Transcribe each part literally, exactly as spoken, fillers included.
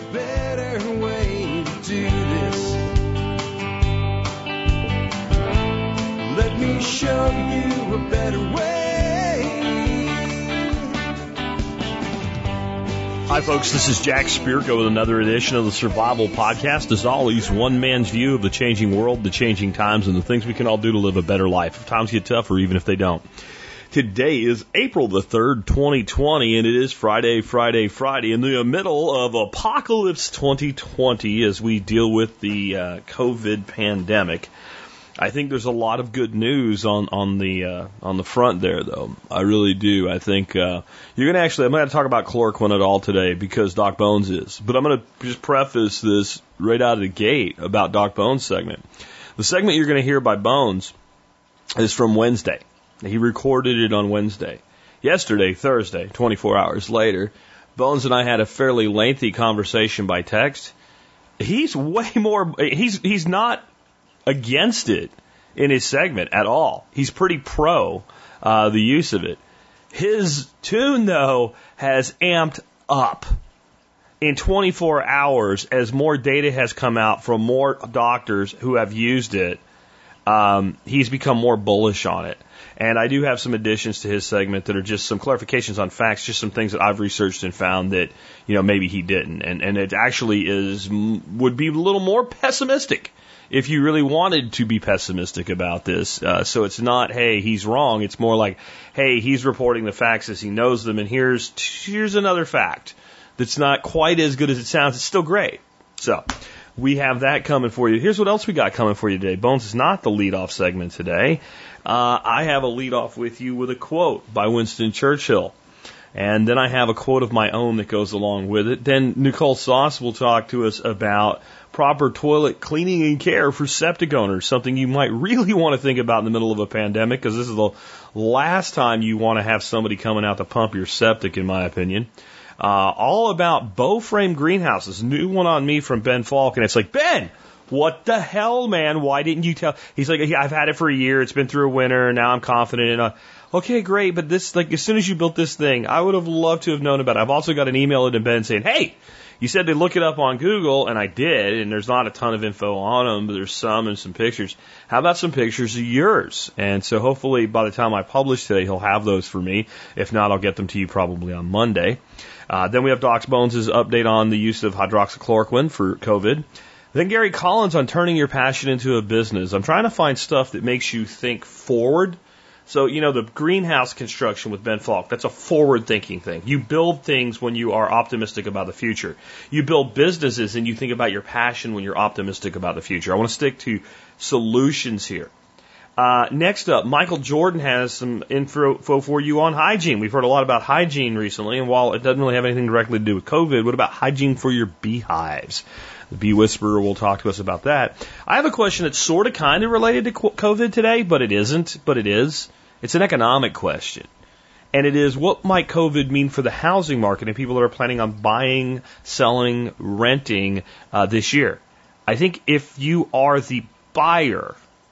better way to do this. Let me show you a better way. Hi, folks. This is Jack Spirko with another edition of the Survival Podcast. As always, one man's view of the changing world, the changing times, and the things we can all do to live a better life if times get tough or even if they don't. Today is April the third, twenty twenty, and it is Friday, Friday, Friday, in the middle of Apocalypse twenty twenty as we deal with the uh, COVID pandemic. I think there's a lot of good news on on the uh, on the front there, though. I really do. I think uh, you're gonna actually. I'm gonna talk about chloroquine at all today because Doc Bones is. But I'm gonna just preface this right out of the gate about Doc Bones' segment. The segment you're gonna hear by Bones is from Wednesday. He recorded it on Wednesday. Yesterday, Thursday, twenty-four hours later, Bones and I had a fairly lengthy conversation by text. He's way more. He's he's not against it in his segment at all. He's pretty pro uh, the use of it. His tune, though, has amped up in twenty-four hours as more data has come out from more doctors who have used it. Um, he's become more bullish on it. And I do have some additions to his segment that are just some clarifications on facts, just some things that I've researched and found that, you know, maybe he didn't. And, and it actually is, would be a little more pessimistic if you really wanted to be pessimistic about this. Uh, so it's not, hey, he's wrong. It's more like, hey, he's reporting the facts as he knows them. And here's, here's another fact that's not quite as good as it sounds. It's still great. So we have that coming for you. Here's what else we got coming for you today. Bones is not the leadoff segment today. Uh, I have a leadoff with you with a quote by Winston Churchill. And then I have a quote of my own that goes along with it. Then Nicole Sauce will talk to us about proper toilet cleaning and care for septic owners, something you might really want to think about in the middle of a pandemic, because this is the last time you want to have somebody coming out to pump your septic, in my opinion. Uh, all about bow frame greenhouses. New one on me from Ben Falk, and it's like, Ben, what the hell, man? Why didn't you tell? He's like, I've had it for a year. It's been through a winter. Now I'm confident in it. Okay, great. But this, like, as soon as you built this thing, I would have loved to have known about it. I've also got an email to Ben saying, hey, you said to look it up on Google, and I did, and there's not a ton of info on them, but there's some and some pictures. How about some pictures of yours? And so hopefully by the time I publish today, he'll have those for me. If not, I'll get them to you probably on Monday. Uh, then we have Doc Bones' update on the use of hydroxychloroquine for COVID. Then Gary Collins on turning your passion into a business. I'm trying to find stuff that makes you think forward. So, you know, the greenhouse construction with Ben Falk, that's a forward-thinking thing. You build things when you are optimistic about the future. You build businesses and you think about your passion when you're optimistic about the future. I want to stick to solutions here. Uh, next up, Michael Jordan has some info for you on hygiene. We've heard a lot about hygiene recently, and while it doesn't really have anything directly to do with COVID, what about hygiene for your beehives? The Bee Whisperer will talk to us about that. I have a question that's sort of kind of related to COVID today, but it isn't, but it is. It's an economic question. And it is, what might COVID mean for the housing market and people that are planning on buying, selling, renting uh, this year? I think if you are the buyer,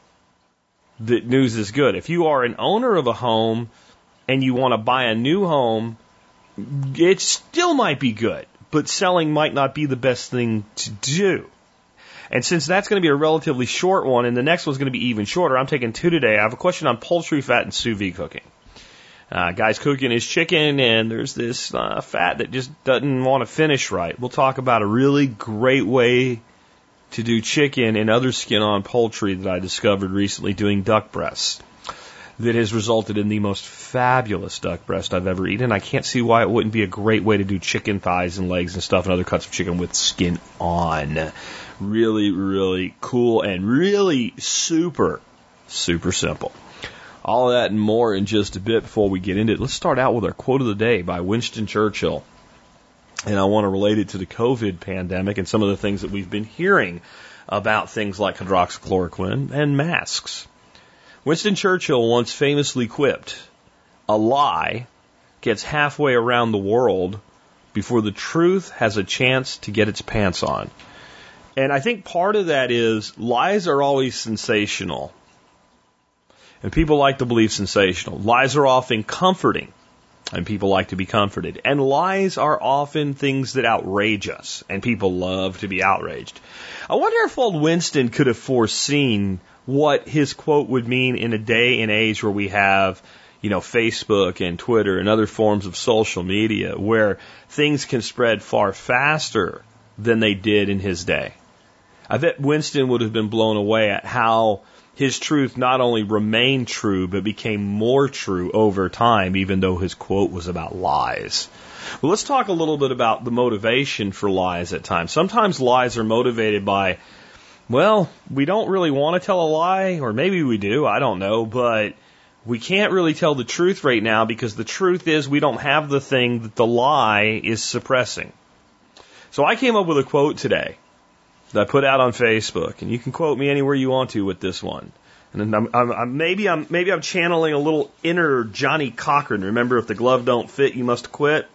the news is good. If you are an owner of a home and you want to buy a new home, it still might be good, but selling might not be the best thing to do. And since that's going to be a relatively short one, and the next one's going to be even shorter, I'm taking two today. I have a question on poultry fat and sous vide cooking. Uh, guy's cooking his chicken, and there's this uh, fat that just doesn't want to finish right. We'll talk about a really great way to do chicken and other skin-on poultry that I discovered recently doing duck breasts that has resulted in the most fabulous duck breast I've ever eaten. I can't see why it wouldn't be a great way to do chicken thighs and legs and stuff and other cuts of chicken with skin on. Really, really cool and really super, super simple. All of that and more in just a bit before we get into it. Let's start out with our quote of the day by Winston Churchill. And I want to relate it to the COVID pandemic and some of the things that we've been hearing about things like hydroxychloroquine and masks. Winston Churchill once famously quipped, "A lie gets halfway around the world before the truth has a chance to get its pants on." And I think part of that is lies are always sensational. And people like to believe sensational. Lies are often comforting. And people like to be comforted. And lies are often things that outrage us. And people love to be outraged. I wonder if old Winston could have foreseen what his quote would mean in a day and age where we have, you know, Facebook and Twitter and other forms of social media where things can spread far faster than they did in his day. I bet Winston would have been blown away at how his truth not only remained true, but became more true over time, even though his quote was about lies. Well, let's talk a little bit about the motivation for lies at times. Sometimes lies are motivated by, well, we don't really want to tell a lie, or maybe we do, I don't know, but we can't really tell the truth right now because the truth is we don't have the thing that the lie is suppressing. So I came up with a quote today that I put out on Facebook, and you can quote me anywhere you want to with this one. And I'm, I'm, I'm, maybe I'm maybe I'm channeling a little inner Johnny Cochran. Remember, if the glove don't fit, you must quit.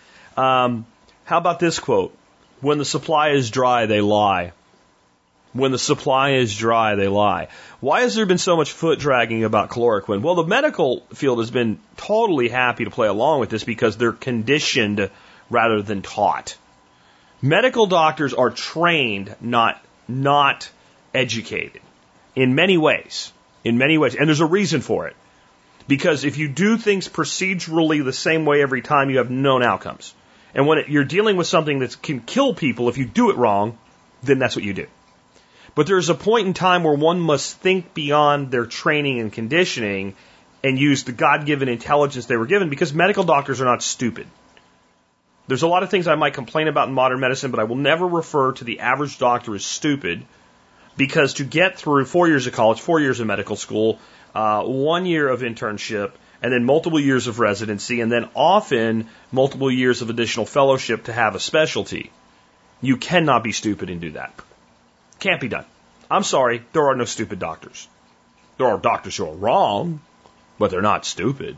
Um, how about this quote? When the supply is dry, they lie. When the supply is dry, they lie. Why has there been so much foot dragging about chloroquine? Well, the medical field has been totally happy to play along with this because they're conditioned rather than taught. Medical doctors are trained, not not educated, in many ways. In many ways. And there's a reason for it. Because if you do things procedurally the same way every time, you have known outcomes. And when it, you're dealing with something that can kill people, if you do it wrong, then that's what you do. But there's a point in time where one must think beyond their training and conditioning and use the God-given intelligence they were given, because medical doctors are not stupid. There's a lot of things I might complain about in modern medicine, but I will never refer to the average doctor as stupid, because to get through four years of college, four years of medical school, uh, one year of internship, and then multiple years of residency, and then often multiple years of additional fellowship to have a specialty, you cannot be stupid and do that. Can't be done. I'm sorry, there are no stupid doctors. There are doctors who are wrong, but they're not stupid.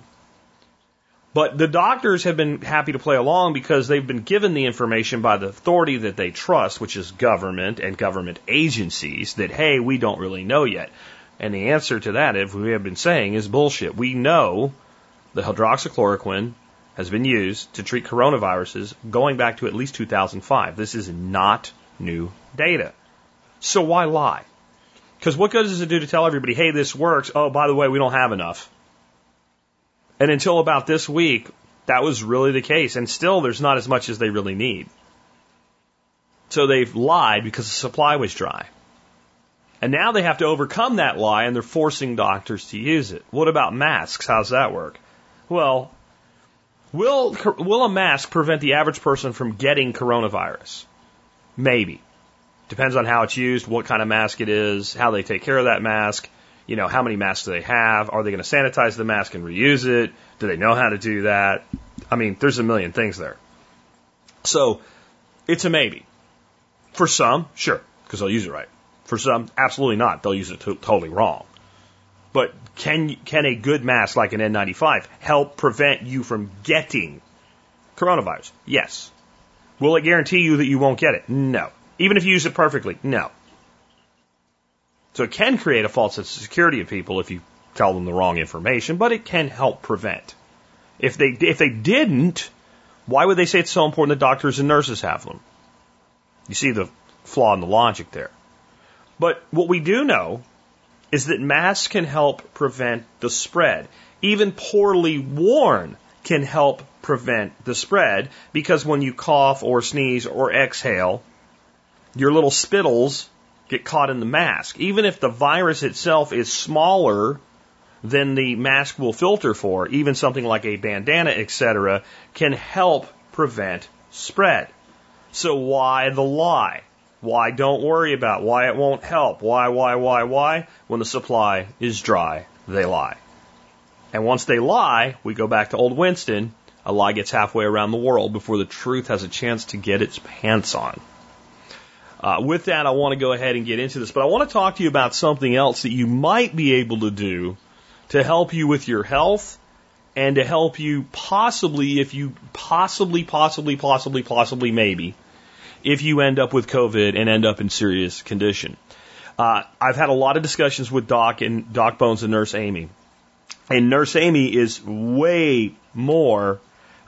But the doctors have been happy to play along because they've been given the information by the authority that they trust, which is government and government agencies, that, hey, we don't really know yet. And the answer to that, if we have been saying, is bullshit. We know the hydroxychloroquine has been used to treat coronaviruses going back to at least two thousand five. This is not new data. So why lie? Because what good does it do to tell everybody, hey, this works, oh, by the way, we don't have enough? And until about this week, that was really the case. And still, there's not as much as they really need. So they've lied because the supply was dry. And now they have to overcome that lie, and they're forcing doctors to use it. What about masks? How's that work? Well, will, will a mask prevent the average person from getting coronavirus? Maybe. Depends on how it's used, what kind of mask it is, how they take care of that mask. You know, how many masks do they have? Are they going to sanitize the mask and reuse it? Do they know how to do that? I mean, there's a million things there. So, it's a maybe. For some, sure, because they'll use it right. For some, absolutely not. They'll use it to- totally wrong. But can can a good mask like an N ninety-five help prevent you from getting coronavirus? Yes. Will it guarantee you that you won't get it? No. Even if you use it perfectly? No. So it can create a false sense of security of people if you tell them the wrong information, but it can help prevent. If they if they didn't, why would they say it's so important that doctors and nurses have them? You see the flaw in the logic there. But what we do know is that masks can help prevent the spread. Even poorly worn can help prevent the spread, because when you cough or sneeze or exhale, your little spittles get caught in the mask. Even if the virus itself is smaller than the mask will filter for, even something like a bandana, et cetera, can help prevent spread. So why the lie? Why don't worry about? Why it won't help? Why, why, why, why? When the supply is dry, they lie. And once they lie, we go back to old Winston, a lie gets halfway around the world before the truth has a chance to get its pants on. Uh, with that, I want to go ahead and get into this, but I want to talk to you about something else that you might be able to do to help you with your health and to help you possibly, if you possibly, possibly, possibly, possibly, maybe, if you end up with COVID and end up in serious condition. Uh, I've had a lot of discussions with Doc and Doc Bones and Nurse Amy. And Nurse Amy is way more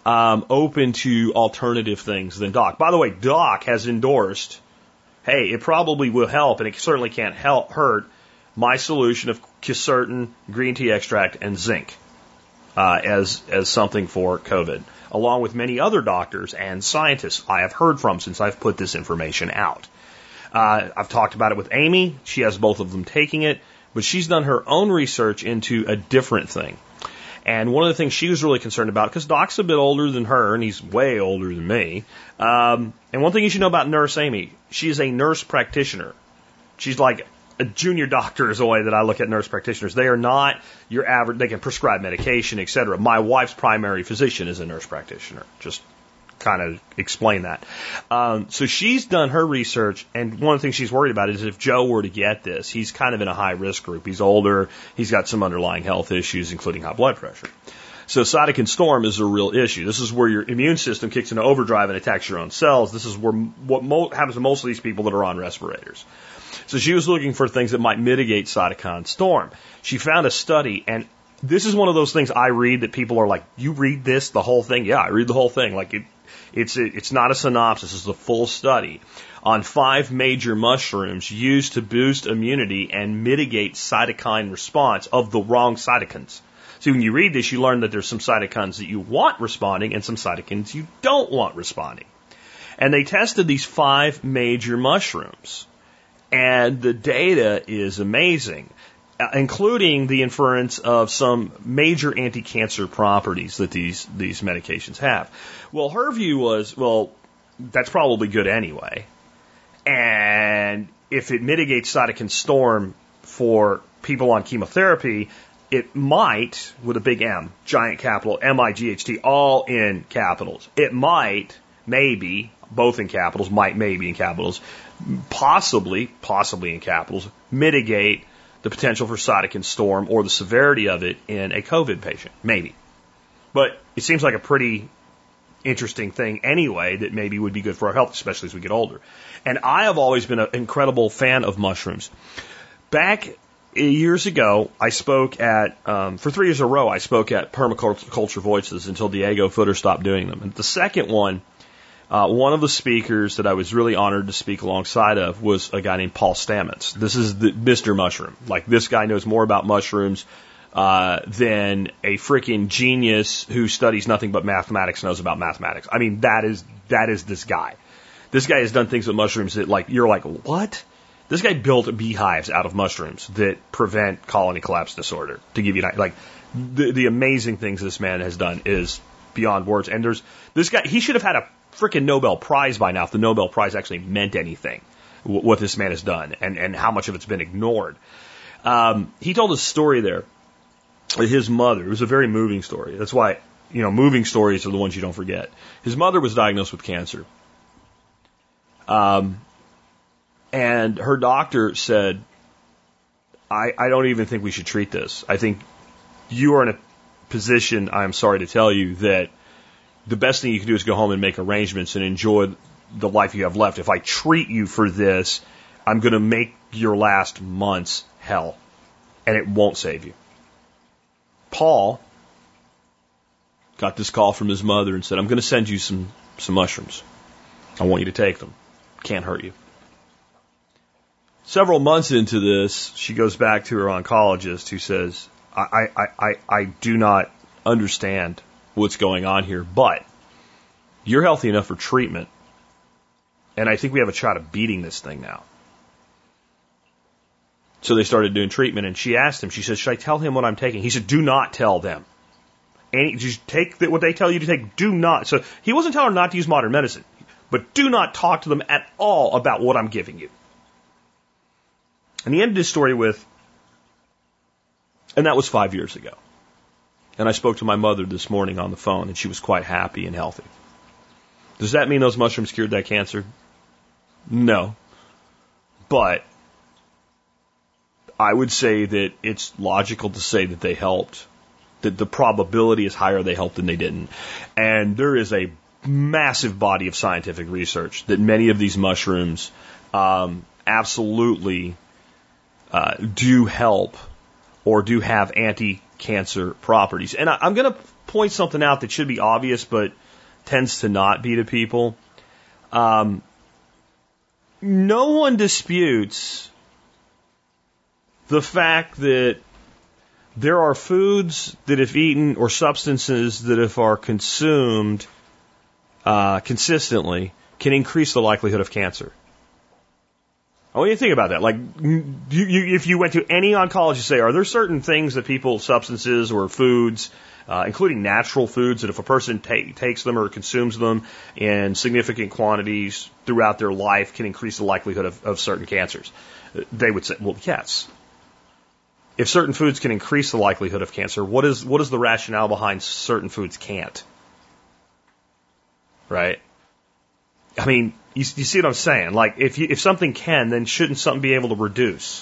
um, open to alternative things than Doc. By the way, Doc has endorsed, hey, it probably will help, and it certainly can't help hurt, my solution of quercetin, green tea extract, and zinc uh, as as something for COVID, along with many other doctors and scientists I have heard from since I've put this information out. Uh, I've talked about it with Amy. She has both of them taking it, but she's done her own research into a different thing. And one of the things she was really concerned about, because Doc's a bit older than her, and he's way older than me. Um, and one thing you should know about Nurse Amy, she is a nurse practitioner. She's like a junior doctor is the way that I look at nurse practitioners. They are not your average, they can prescribe medication, et cetera. My wife's primary physician is a nurse practitioner. Just kind of explain that. Um, so she's done her research, and one of the things she's worried about is if Joe were to get this, he's kind of in a high risk group. He's older, he's got some underlying health issues, including high blood pressure. So cytokine storm is a real issue. This is where your immune system kicks into overdrive and attacks your own cells. This is where what mo- happens to most of these people that are on respirators. So she was looking for things that might mitigate cytokine storm. She found a study, and this is one of those things I read that people are like, you read this, the whole thing? Yeah, I read the whole thing. Like it, it's a, it's not a synopsis, it's a full study on five major mushrooms used to boost immunity and mitigate cytokine response of the wrong cytokines. See, when you read this, you learn that there's some cytokines that you want responding and some cytokines you don't want responding. And they tested these five major mushrooms, and the data is amazing, including the inference of some major anti-cancer properties that these, these medications have. Well, her view was, well, that's probably good anyway. And if it mitigates cytokine storm for people on chemotherapy, it might, with a big M, giant capital, M I G H T, all in capitals. It might, maybe, both in capitals, might, maybe in capitals, possibly, possibly in capitals, mitigate the potential for cytokine storm or the severity of it in a COVID patient. Maybe. But it seems like a pretty interesting thing anyway that maybe would be good for our health, especially as we get older. And I have always been an incredible fan of mushrooms. Back years ago, I spoke at, um, for three years in a row, I spoke at Permaculture Voices until Diego Footer stopped doing them. And the second one, Uh, one of the speakers that I was really honored to speak alongside of was a guy named Paul Stamets. This is the Mister Mushroom. Like, this guy knows more about mushrooms uh, than a freaking genius who studies nothing but mathematics knows about mathematics. I mean, that is that is this guy. This guy has done things with mushrooms that, like, you're like, what? This guy built beehives out of mushrooms that prevent colony collapse disorder. To give you an idea, like, the, the amazing things this man has done is beyond words. And there's this guy. He should have had a freaking Nobel Prize by now if the Nobel Prize actually meant anything, what this man has done and, and how much of it's been ignored. Um, he told a story there with his mother. It was a very moving story. That's why, you know, moving stories are the ones you don't forget. His mother was diagnosed with cancer. Um, and her doctor said, I, I don't even think we should treat this. I think you are in a position, I'm sorry to tell you, that the best thing you can do is go home and make arrangements and enjoy the life you have left. If I treat you for this, I'm going to make your last months hell, and it won't save you. Paul got this call from his mother and said, I'm going to send you some, some mushrooms. I want you to take them. Can't hurt you. Several months into this, she goes back to her oncologist who says, I, I, I, I do not understand what's going on here, but you're healthy enough for treatment, and I think we have a shot of beating this thing now. So they started doing treatment, and she asked him, she said, should I tell him what I'm taking? He said, do not tell them. And just take what they tell you to take. Do not. So he wasn't telling her not to use modern medicine, but do not talk to them at all about what I'm giving you. And he ended his story with, and that was five years ago. And I spoke to my mother this morning on the phone, and she was quite happy and healthy. Does that mean those mushrooms cured that cancer? No. But I would say that it's logical to say that they helped, that the probability is higher they helped than they didn't. And there is a massive body of scientific research that many of these mushrooms um, absolutely uh, do help or do have anti cancer properties. And I, I'm going to point something out that should be obvious, but tends to not be to people. Um, no one disputes the fact that there are foods that if eaten or substances that if are consumed uh, consistently can increase the likelihood of cancer. I want you to think about that. Like, you, you, if you went to any oncologist, say, are there certain things that people, substances or foods, uh, including natural foods, that if a person ta- takes them or consumes them in significant quantities throughout their life can increase the likelihood of, of certain cancers? They would say, well, yes. If certain foods can increase the likelihood of cancer, what is what is the rationale behind certain foods can't? Right? I mean, you, you see what I'm saying? Like, if you, if something can, then shouldn't something be able to reduce?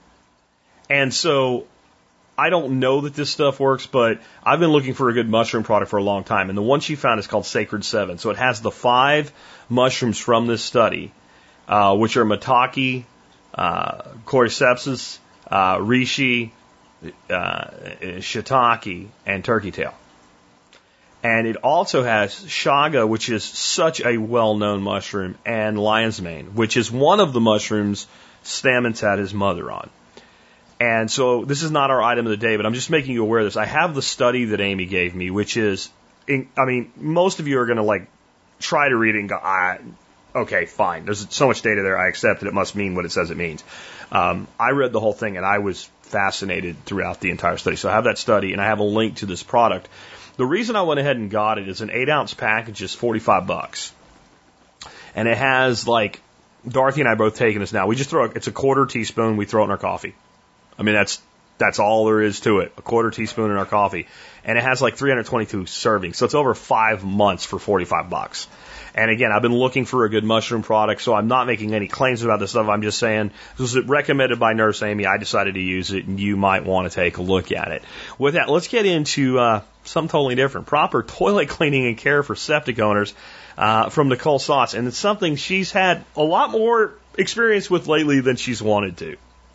And so, I don't know that this stuff works, but I've been looking for a good mushroom product for a long time, and the one she found is called Sacred Seven. So it has the five mushrooms from this study, uh, which are maitake, uh, cordyceps, uh, reishi, uh, shiitake, and turkey tail. And it also has chaga, which is such a well-known mushroom, and lion's mane, which is one of the mushrooms Stamets had his mother on. And so this is not our item of the day, but I'm just making you aware of this. I have the study that Amy gave me, which is, in, I mean, most of you are going to like try to read it and go, ah, okay, fine. There's so much data there. I accept that it must mean what it says it means. Um, I read the whole thing and I was fascinated throughout the entire study. So I have that study and I have a link to this product. The reason I went ahead and got it is an eight ounce package is forty-five bucks. And it has like, Dorothy and I both taking this now. We just throw, it's a quarter teaspoon. We throw it in our coffee. I mean, that's, that's all there is to it. A quarter teaspoon in our coffee. And it has like three hundred twenty-two servings. So it's over five months for forty-five bucks. And again, I've been looking for a good mushroom product, so I'm not making any claims about this stuff. I'm just saying, this was recommended by Nurse Amy. I decided to use it, and you might want to take a look at it. With that, let's get into uh, something totally different. Proper toilet cleaning and care for septic owners uh, from Nicole Sauce. And it's something she's had a lot more experience with lately than she's wanted to.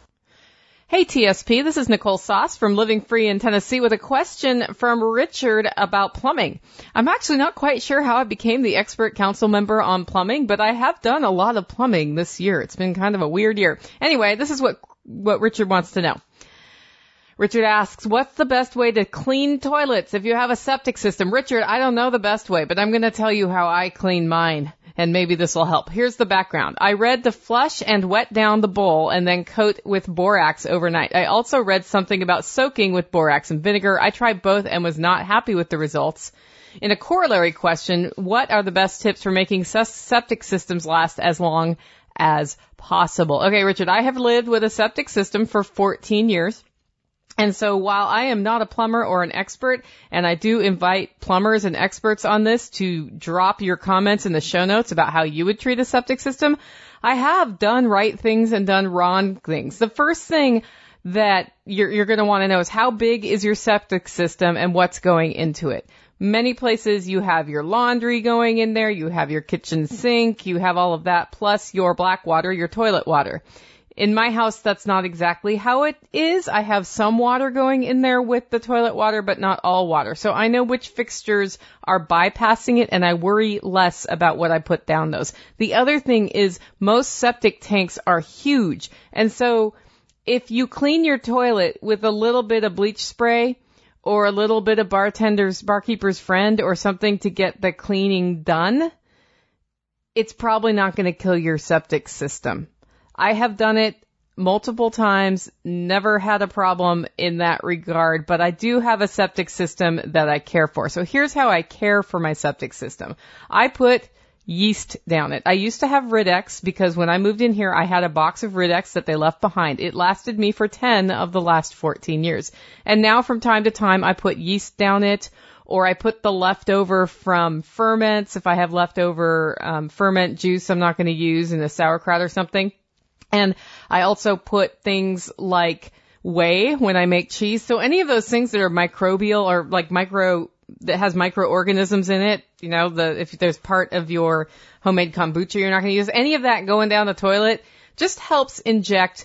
Hey T S P, this is Nicole Sauce from Living Free in Tennessee with a question from Richard about plumbing. I'm actually not quite sure how I became the expert council member on plumbing, but I have done a lot of plumbing this year. It's been kind of a weird year. Anyway, this is what, what Richard wants to know. Richard asks, what's the best way to clean toilets if you have a septic system? Richard, I don't know the best way, but I'm going to tell you how I clean mine. And maybe this will help. Here's the background. I read to flush and wet down the bowl and then coat with borax overnight. I also read something about soaking with borax and vinegar. I tried both and was not happy with the results. In a corollary question, what are the best tips for making septic systems last as long as possible? Okay, Richard, I have lived with a septic system for fourteen years. And so while I am not a plumber or an expert, and I do invite plumbers and experts on this to drop your comments in the show notes about how you would treat a septic system, I have done right things and done wrong things. The first thing that you're, you're going to want to know is how big is your septic system and what's going into it. Many places you have your laundry going in there, you have your kitchen sink, you have all of that, plus your black water, your toilet water. In my house, that's not exactly how it is. I have some water going in there with the toilet water, but not all water. So I know which fixtures are bypassing it, and I worry less about what I put down those. The other thing is most septic tanks are huge. And so if you clean your toilet with a little bit of bleach spray or a little bit of bartender's, barkeeper's friend or something to get the cleaning done, it's probably not going to kill your septic system. I have done it multiple times, never had a problem in that regard, but I do have a septic system that I care for. So here's how I care for my septic system. I put yeast down it. I used to have Rid-X because when I moved in here, I had a box of Rid-X that they left behind. It lasted me for ten of the last fourteen years. And now from time to time, I put yeast down it, or I put the leftover from ferments. If I have leftover um, ferment juice I'm not going to use in a sauerkraut or something. And I also put things like whey when I make cheese. So any of those things that are microbial or like micro, that has microorganisms in it, you know, the, if there's part of your homemade kombucha you're not going to use, any of that going down the toilet just helps inject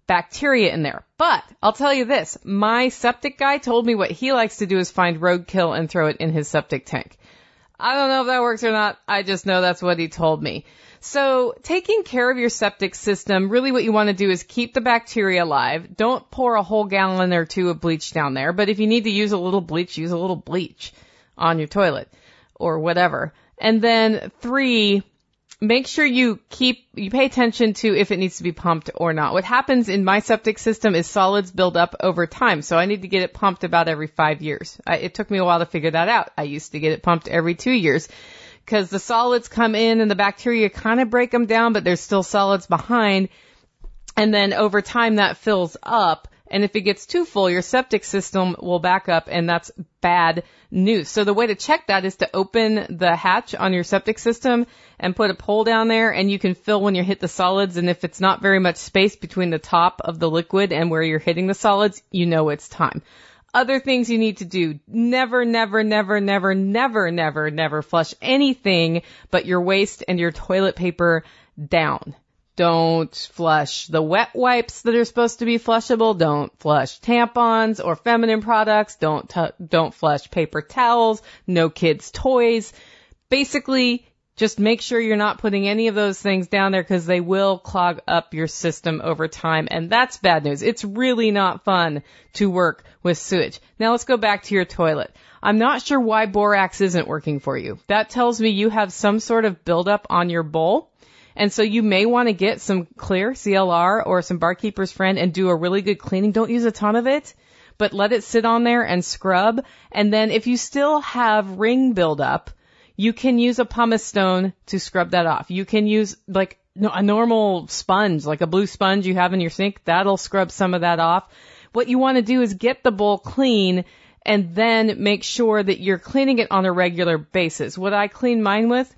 bacteria in there. But I'll tell you this, my septic guy told me what he likes to do is find roadkill and throw it in his septic tank. I don't know if that works or not. I just know that's what he told me. So taking care of your septic system, really what you want to do is keep the bacteria alive. Don't pour a whole gallon or two of bleach down there. But if you need to use a little bleach, use a little bleach on your toilet or whatever. And then three, make sure you keep, you pay attention to if it needs to be pumped or not. What happens in my septic system is solids build up over time. So I need to get it pumped about every five years. I, it took me a while to figure that out. I used to get it pumped every two years. Because the solids come in and the bacteria kind of break them down, but there's still solids behind. And then over time that fills up. And if it gets too full, your septic system will back up, and that's bad news. So the way to check that is to open the hatch on your septic system and put a pole down there, and you can fill when you hit the solids. And if it's not very much space between the top of the liquid and where you're hitting the solids, you know it's time. Other things you need to do. Never, never, never, never, never, never, never flush anything but your waste and your toilet paper down. Don't flush the wet wipes that are supposed to be flushable. Don't flush tampons or feminine products. Don't, t- don't flush paper towels. No kids' toys. Basically, just make sure you're not putting any of those things down there because they will clog up your system over time. And that's bad news. It's really not fun to work with sewage. Now let's go back to your toilet. I'm not sure why borax isn't working for you. That tells me you have some sort of buildup on your bowl. And so you may want to get some clear C L R or some Barkeeper's Friend and do a really good cleaning. Don't use a ton of it, but let it sit on there and scrub. And then if you still have ring buildup, you can use a pumice stone to scrub that off. You can use like a normal sponge, like a blue sponge you have in your sink. That'll scrub some of that off. What you want to do is get the bowl clean and then make sure that you're cleaning it on a regular basis. What I clean mine with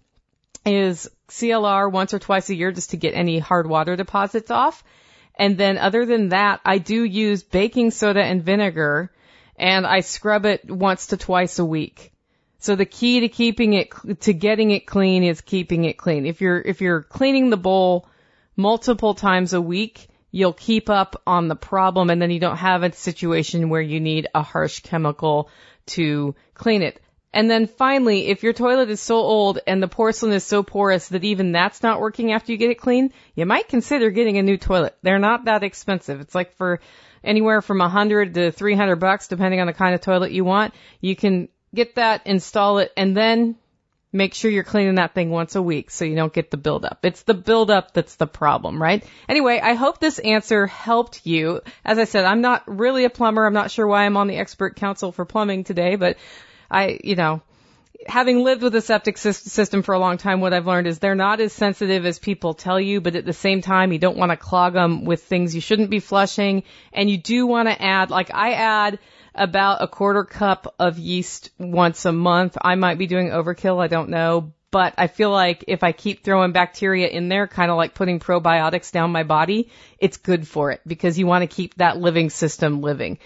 is C L R once or twice a year just to get any hard water deposits off. And then other than that, I do use baking soda and vinegar, and I scrub it once to twice a week. So the key to keeping it, to getting it clean is keeping it clean. If you're, if you're cleaning the bowl multiple times a week, you'll keep up on the problem, and then you don't have a situation where you need a harsh chemical to clean it. And then finally, if your toilet is so old and the porcelain is so porous that even that's not working after you get it clean, you might consider getting a new toilet. They're not that expensive. It's like for anywhere from a hundred to three hundred bucks, depending on the kind of toilet you want. You can get that, install it, and then make sure you're cleaning that thing once a week so you don't get the buildup. It's the buildup that's the problem, right? Anyway, I hope this answer helped you. As I said, I'm not really a plumber. I'm not sure why I'm on the expert council for plumbing today, but I, you know, having lived with a septic system for a long time, what I've learned is they're not as sensitive as people tell you, but at the same time, you don't want to clog them with things you shouldn't be flushing. And you do want to add, like I add about a quarter cup of yeast once a month. I might be doing overkill, I don't know. But I feel like if I keep throwing bacteria in there, kind of like putting probiotics down my body, it's good for it because you want to keep that living system living.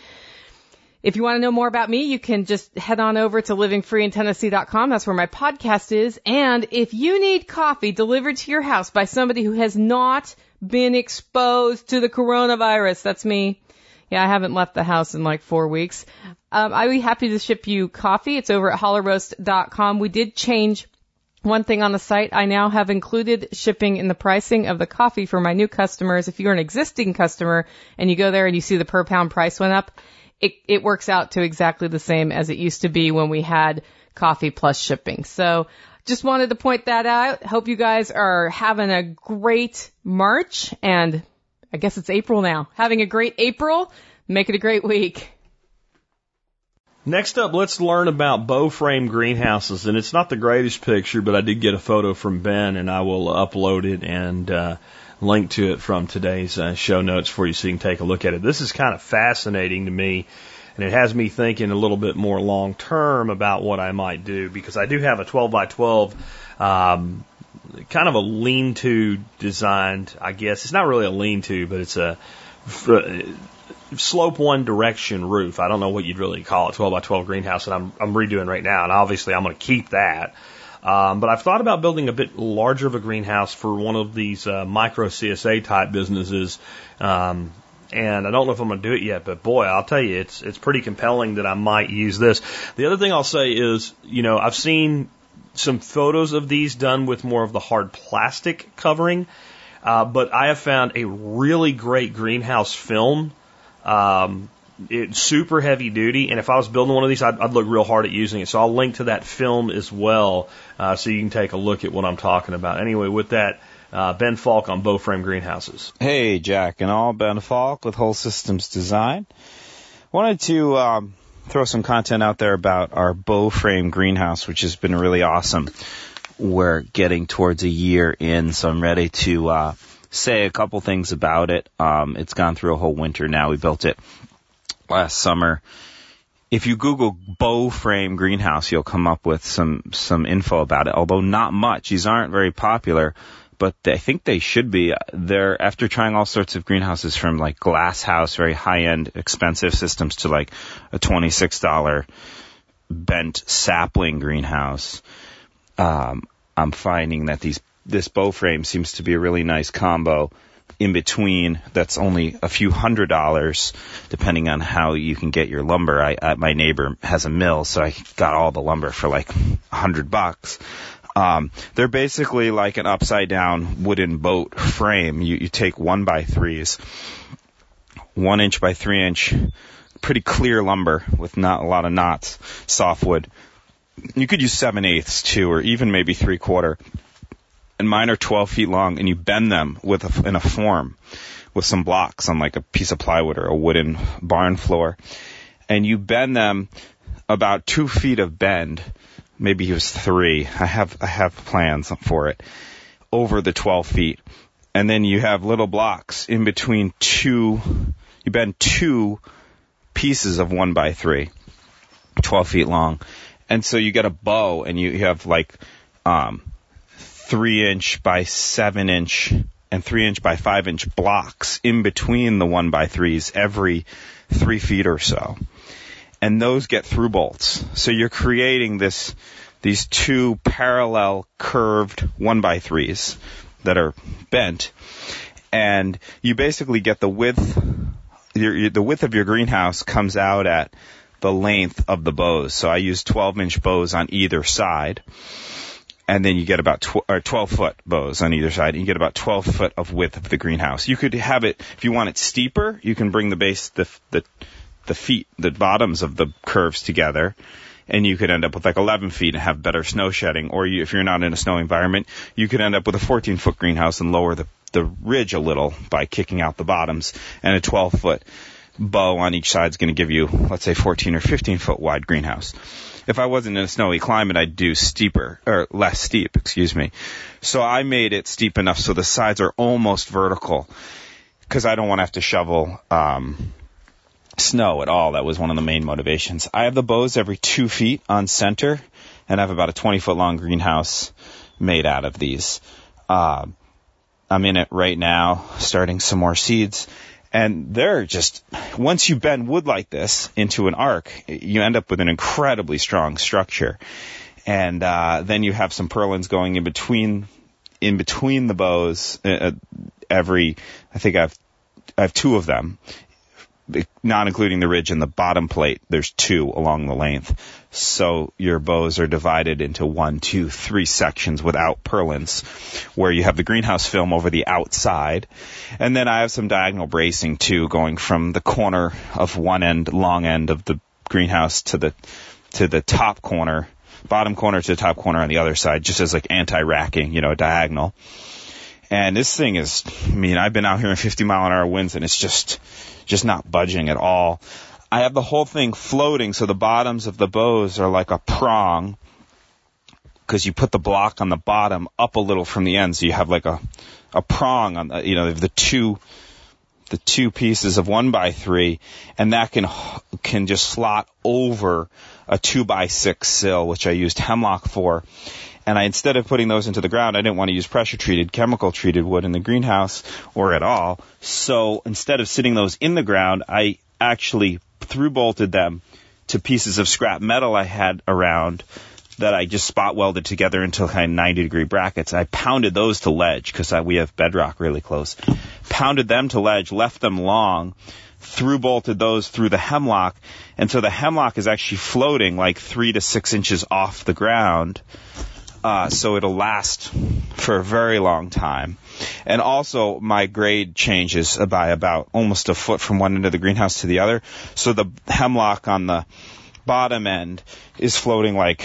If you want to know more about me, you can just head on over to living free in tennessee dot com. That's where my podcast is. And if you need coffee delivered to your house by somebody who has not been exposed to the coronavirus, that's me. Yeah, I haven't left the house in like four weeks. Um, I'd be happy to ship you coffee. It's over at hollow roast dot com. We did change one thing on the site. I now have included shipping in the pricing of the coffee for my new customers. If you're an existing customer and you go there and you see the per pound price went up, It, it works out to exactly the same as it used to be when we had coffee plus shipping. So just wanted to point that out. Hope you guys are having a great March, and I guess it's April now. Having a great April. Make it a great week. Next up, let's learn about bow frame greenhouses. And it's not the greatest picture, but I did get a photo from Ben, and I will upload it and uh link to it from today's uh, show notes for you so you can take a look at it. This is kind of fascinating to me, and it has me thinking a little bit more long term about what I might do, because I do have a twelve by twelve um, kind of a lean-to designed, I guess. It's not really a lean-to, but it's a slope one direction roof. I don't know what you'd really call it, twelve by twelve greenhouse that I'm, I'm redoing right now, and obviously I'm going to keep that. Um, but I've thought about building a bit larger of a greenhouse for one of these uh, micro C S A type businesses. Um, and I don't know if I'm going to do it yet, but boy, I'll tell you, it's it's pretty compelling that I might use this. The other thing I'll say is, you know, I've seen some photos of these done with more of the hard plastic covering, uh, but I have found a really great greenhouse film. Um, it's super heavy duty, and if I was building one of these, I'd, I'd look real hard at using it. So I'll link to that film as well, uh, so you can take a look at what I'm talking about. Anyway, with that, uh, Ben Falk on Bow Frame Greenhouses. Hey, Jack and all, Ben Falk with Whole Systems Design. Wanted to um, throw some content out there about our Bow Frame greenhouse, which has been really awesome. We're getting towards a year in, so I'm ready to uh, say a couple things about it. Um, it's gone through a whole winter now. We built it last summer. If you Google Bow Frame greenhouse, you'll come up with some some info about it, although not much. These aren't very popular, but I think they should be. They're, after trying all sorts of greenhouses from like glass house, very high-end, expensive systems, to like a twenty-six dollars bent sapling greenhouse, um, I'm finding that these this Bow Frame seems to be a really nice combo in between. That's only a few hundred dollars, depending on how you can get your lumber. I, I my neighbor has a mill, so I got all the lumber for like a hundred bucks. Um, they're basically like an upside down wooden boat frame. You, you take one by threes, one inch by three inch, pretty clear lumber with not a lot of knots, softwood. You could use seven eighths too, or even maybe three quarter. And mine are twelve feet long, and you bend them with a, in a form with some blocks on like a piece of plywood or a wooden barn floor. And you bend them about two feet of bend. Maybe it was three. I have I have plans for it over the twelve feet. And then you have little blocks in between two. You bend two pieces of one by three, twelve feet long. And so you get a bow, and you, you have like um, three inch by seven inch and three inch by five inch blocks in between the one by threes every three feet or so. And those get through bolts. So you're creating this, these two parallel curved one by threes that are bent. And you basically get the width, your, the width of your greenhouse comes out at the length of the bows. So I use twelve inch bows on either side. And then you get about tw- or twelve foot bows on either side. And you get about twelve foot of width of the greenhouse. You could have it, if you want it steeper, you can bring the base, the, the, the feet, the bottoms of the curves together, and you could end up with like eleven feet and have better snow shedding. Or you, if you're not in a snow environment, you could end up with a fourteen foot greenhouse and lower the, the ridge a little by kicking out the bottoms. And a twelve foot bow on each side is going to give you, let's say, fourteen or fifteen foot wide greenhouse. If I wasn't in a snowy climate, I'd do steeper, or less steep, excuse me. So I made it steep enough so the sides are almost vertical, because I don't want to have to shovel um snow at all. That was one of the main motivations. I have the bows every two feet on center, and I have about a twenty foot long greenhouse made out of these. Uh, I'm in it right now, starting some more seeds. And they're just, once you bend wood like this into an arc, you end up with an incredibly strong structure. And uh, then you have some purlins going in between, in between the bows. Uh, every, I think I've, I have two of them, not including the ridge and the bottom plate. There's two along the length. So your bows are divided into one, two, three sections without purlins, where you have the greenhouse film over the outside. And then I have some diagonal bracing too, going from the corner of one end, long end of the greenhouse to the, to the top corner, bottom corner to the top corner on the other side, just as like anti-racking, you know, diagonal. And this thing is, I mean, I've been out here in fifty mile an hour winds, and it's just, just not budging at all. I have the whole thing floating, so the bottoms of the bows are like a prong, because you put the block on the bottom up a little from the end, so you have like a, a prong on the, you know, the two, the two pieces of one by three, and that can, can just slot over a two by six sill, which I used hemlock for. And I, instead of putting those into the ground, I didn't want to use pressure-treated, chemical-treated wood in the greenhouse or at all. So instead of sitting those in the ground, I actually through-bolted them to pieces of scrap metal I had around that I just spot welded together into kind of ninety degree brackets. I pounded those to ledge because we have bedrock really close. Pounded them to ledge, left them long, through bolted those through the hemlock, and so the hemlock is actually floating like three to six inches off the ground. Uh, so it'll last for a very long time. And also my grade changes by about almost a foot from one end of the greenhouse to the other. So the hemlock on the bottom end is floating like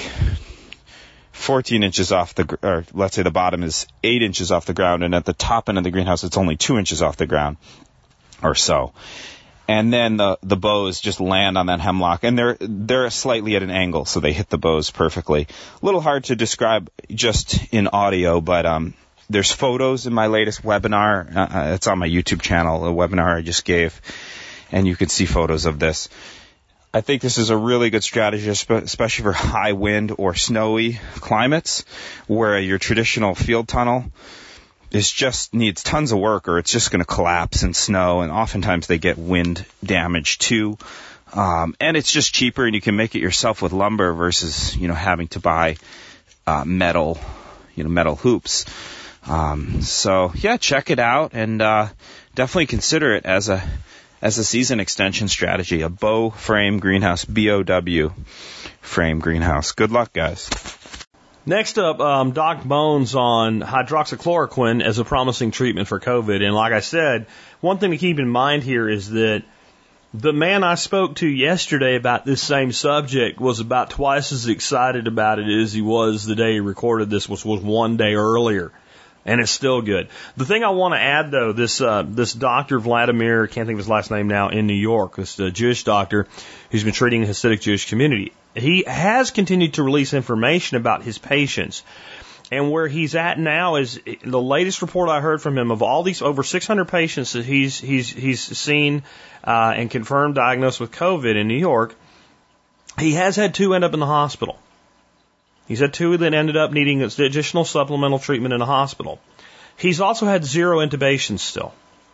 fourteen inches off the, or let's say the bottom is eight inches off the ground, and at the top end of the greenhouse it's only two inches off the ground or so. And then the the bows just land on that hemlock, and they're they're slightly at an angle, so they hit the bows perfectly. A little hard to describe just in audio, but um, there's photos in my latest webinar. Uh, it's on my YouTube channel, a webinar I just gave, and you can see photos of this. I think this is a really good strategy, especially for high wind or snowy climates, where your traditional field tunnel is just needs tons of work, or it's just going to collapse in snow, and oftentimes they get wind damage too. Um, and it's just cheaper, and you can make it yourself with lumber versus, you know, having to buy uh, metal, you know, metal hoops. Um, so yeah, check it out, and uh, definitely consider it as a as a season extension strategy. A bow frame greenhouse, B O W frame greenhouse. Good luck, guys. Next up, um, Doc Bones on hydroxychloroquine as a promising treatment for COVID. And like I said, one thing to keep in mind here is that the man I spoke to yesterday about this same subject was about twice as excited about it as he was the day he recorded this, which was one day earlier. And it's still good. The thing I want to add, though, this uh, this Doctor Vladimir, can't think of his last name now, in New York, this uh, Jewish doctor who's been treating the Hasidic Jewish community, he has continued to release information about his patients. And where he's at now is the latest report I heard from him of all these over six hundred patients that he's he's he's seen uh, and confirmed diagnosed with COVID in New York. He has had two end up in the hospital. He's had two that ended up needing additional supplemental treatment in a hospital. He's also had zero intubations still.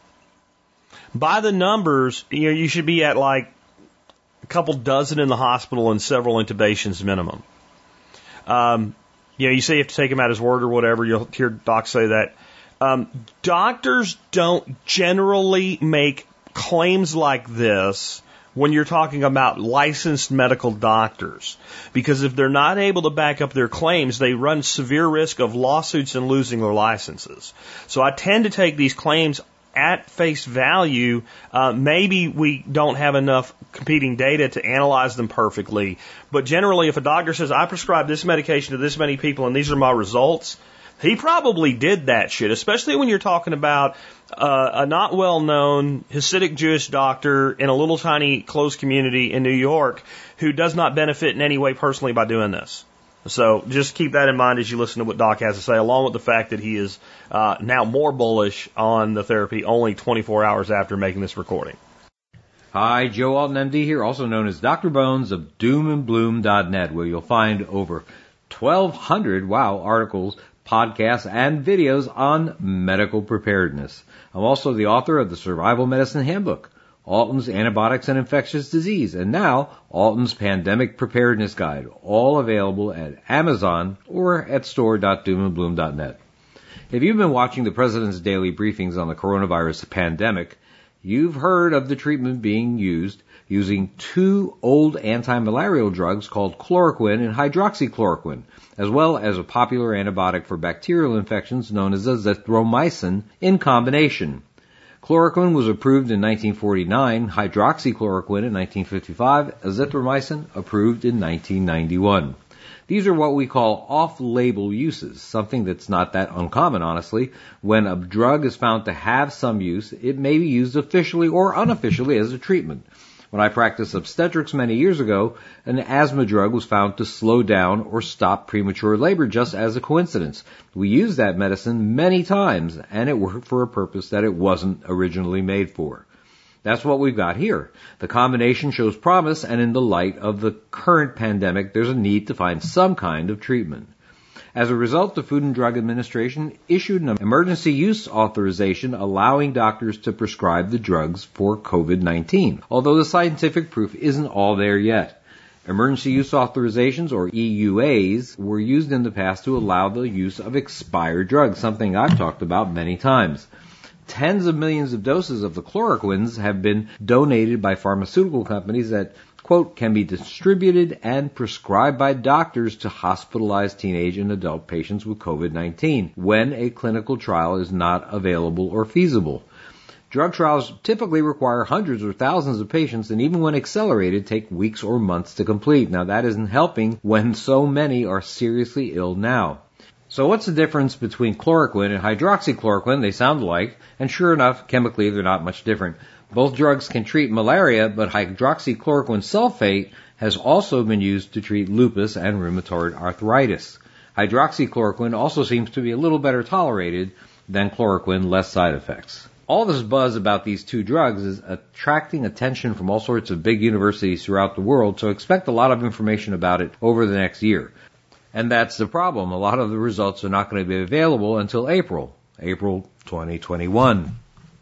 By the numbers, you know, you should be at like a couple dozen in the hospital and several intubations minimum. Um, you know, you say you have to take him at his word or whatever. You'll hear docs say that. Um, doctors don't generally make claims like this when you're talking about licensed medical doctors. Because if they're not able to back up their claims, they run severe risk of lawsuits and losing their licenses. So I tend to take these claims at face value. Uh, maybe we don't have enough competing data to analyze them perfectly. But generally, if a doctor says, I prescribe this medication to this many people and these are my results, he probably did that shit, especially when you're talking about uh, a not well-known Hasidic Jewish doctor in a little tiny closed community in New York who does not benefit in any way personally by doing this. So just keep that in mind as you listen to what Doc has to say, along with the fact that he is uh, now more bullish on the therapy only twenty-four hours after making this recording. Hi, Joe Alton, M D here, also known as Doctor Bones of doom and bloom dot net, where you'll find over twelve hundred, wow, articles, podcasts, and videos on medical preparedness. I'm also the author of the Survival Medicine Handbook, Alton's Antibiotics and Infectious Disease, and now Alton's Pandemic Preparedness Guide, all available at Amazon or at store dot doom and bloom dot net. If you've been watching the President's daily briefings on the coronavirus pandemic, you've heard of the treatment being used using two old anti-malarial drugs called chloroquine and hydroxychloroquine, as well as a popular antibiotic for bacterial infections known as azithromycin in combination. Chloroquine was approved in nineteen forty-nine, hydroxychloroquine in nineteen fifty-five, azithromycin approved in nineteen ninety-one. These are what we call off-label uses, something that's not that uncommon, honestly. When a drug is found to have some use, it may be used officially or unofficially as a treatment. When I practiced obstetrics many years ago, an asthma drug was found to slow down or stop premature labor just as a coincidence. We used that medicine many times, and it worked for a purpose that it wasn't originally made for. That's what we've got here. The combination shows promise, and in the light of the current pandemic, there's a need to find some kind of treatment. As a result, the Food and Drug Administration issued an emergency use authorization allowing doctors to prescribe the drugs for COVID nineteen, although the scientific proof isn't all there yet. Emergency use authorizations, or E U As, were used in the past to allow the use of expired drugs, something I've talked about many times. Tens of millions of doses of the chloroquines have been donated by pharmaceutical companies that, quote, can be distributed and prescribed by doctors to hospitalized teenage and adult patients with COVID nineteen when a clinical trial is not available or feasible. Drug trials typically require hundreds or thousands of patients, and even when accelerated, take weeks or months to complete. Now, that isn't helping when so many are seriously ill now. So what's the difference between chloroquine and hydroxychloroquine? They sound alike, and sure enough, chemically they're not much different. Both drugs can treat malaria, but hydroxychloroquine sulfate has also been used to treat lupus and rheumatoid arthritis. Hydroxychloroquine also seems to be a little better tolerated than chloroquine, less side effects. All this buzz about these two drugs is attracting attention from all sorts of big universities throughout the world, so expect a lot of information about it over the next year. And that's the problem. A lot of the results are not going to be available until April, April twenty twenty-one.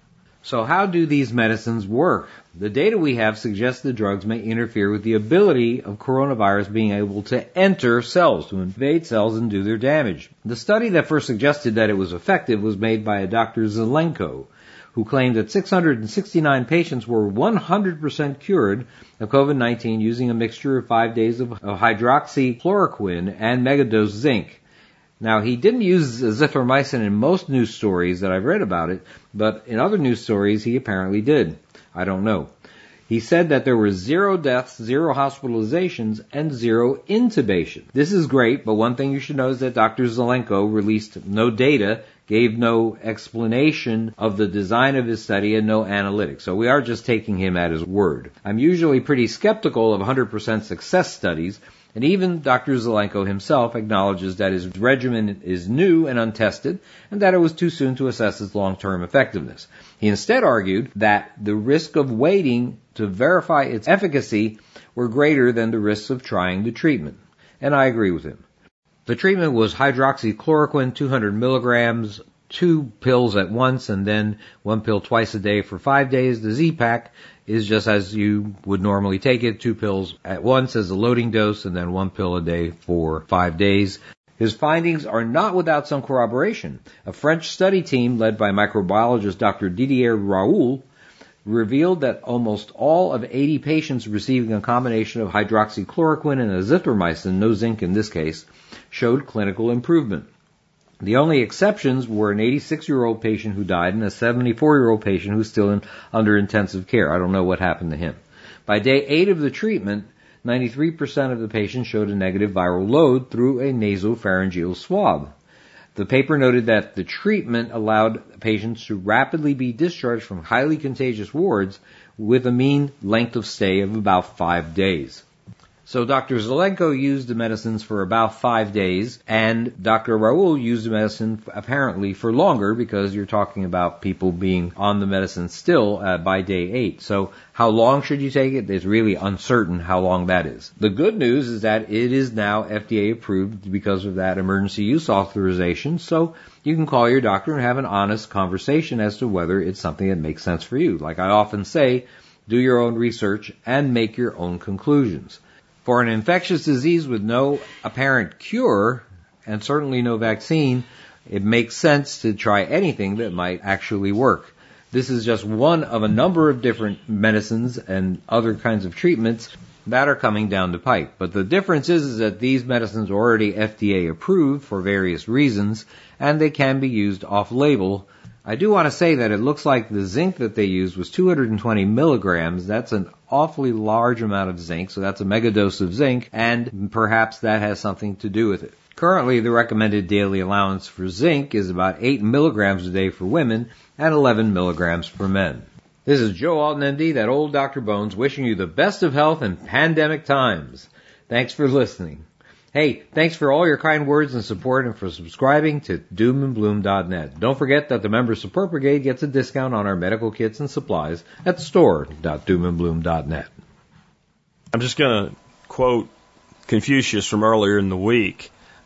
So how do these medicines work? The data we have suggests the drugs may interfere with the ability of coronavirus being able to enter cells, to invade cells and do their damage. The study that first suggested that it was effective was made by a Doctor Zelenko, who claimed that six hundred sixty-nine patients were one hundred percent cured of COVID nineteen using a mixture of five days of hydroxychloroquine and megadose zinc. Now, he didn't use azithromycin in most news stories that I've read about it, but in other news stories he apparently did. I don't know. He said that there were zero deaths, zero hospitalizations, and zero intubation. This is great, but one thing you should know is that Doctor Zelenko released no data, gave no explanation of the design of his study, and no analytics. So we are just taking him at his word. I'm usually pretty skeptical of one hundred percent success studies, and even Doctor Zelenko himself acknowledges that his regimen is new and untested, and that it was too soon to assess its long-term effectiveness. He instead argued that the risk of waiting to verify its efficacy were greater than the risks of trying the treatment. And I agree with him. The treatment was hydroxychloroquine, two hundred milligrams, two pills at once, and then one pill twice a day for five days. The Z-Pak is just as you would normally take it, two pills at once as a loading dose, and then one pill a day for five days. His findings are not without some corroboration. A French study team led by microbiologist Doctor Didier Raoul revealed that almost all of eighty patients receiving a combination of hydroxychloroquine and azithromycin, no zinc in this case, showed clinical improvement. The only exceptions were an eighty-six-year-old patient who died and a seventy-four-year-old patient who's still in, under intensive care. I don't know what happened to him. By day eight of the treatment, ninety-three percent of the patients showed a negative viral load through a nasopharyngeal swab. The paper noted that the treatment allowed patients to rapidly be discharged from highly contagious wards with a mean length of stay of about five days. So Doctor Zelenko used the medicines for about five days, and Doctor Raoul used the medicine apparently for longer, because you're talking about people being on the medicine still uh, by day eight. So how long should you take it? It's really uncertain how long that is. The good news is that it is now F D A approved because of that emergency use authorization, so you can call your doctor and have an honest conversation as to whether it's something that makes sense for you. Like I often say, do your own research and make your own conclusions. For an infectious disease with no apparent cure, and certainly no vaccine, it makes sense to try anything that might actually work. This is just one of a number of different medicines and other kinds of treatments that are coming down the pipe. But the difference is, is that these medicines are already F D A approved for various reasons, and they can be used off-label. I do want to say that it looks like the zinc that they used was two hundred twenty milligrams. That's an awfully large amount of zinc, so that's a megadose of zinc, and perhaps that has something to do with it. Currently, the recommended daily allowance for zinc is about eight milligrams a day for women and eleven milligrams for men. This is Joe Alton, M D, that old Doctor Bones, wishing you the best of health in pandemic times. Thanks for listening. Hey, thanks for all your kind words and support, and for subscribing to doom and bloom dot net. Don't forget that the Member Support Brigade gets a discount on our medical kits and supplies at store dot doom and bloom dot net. I'm just going to quote Confucius from earlier in the week.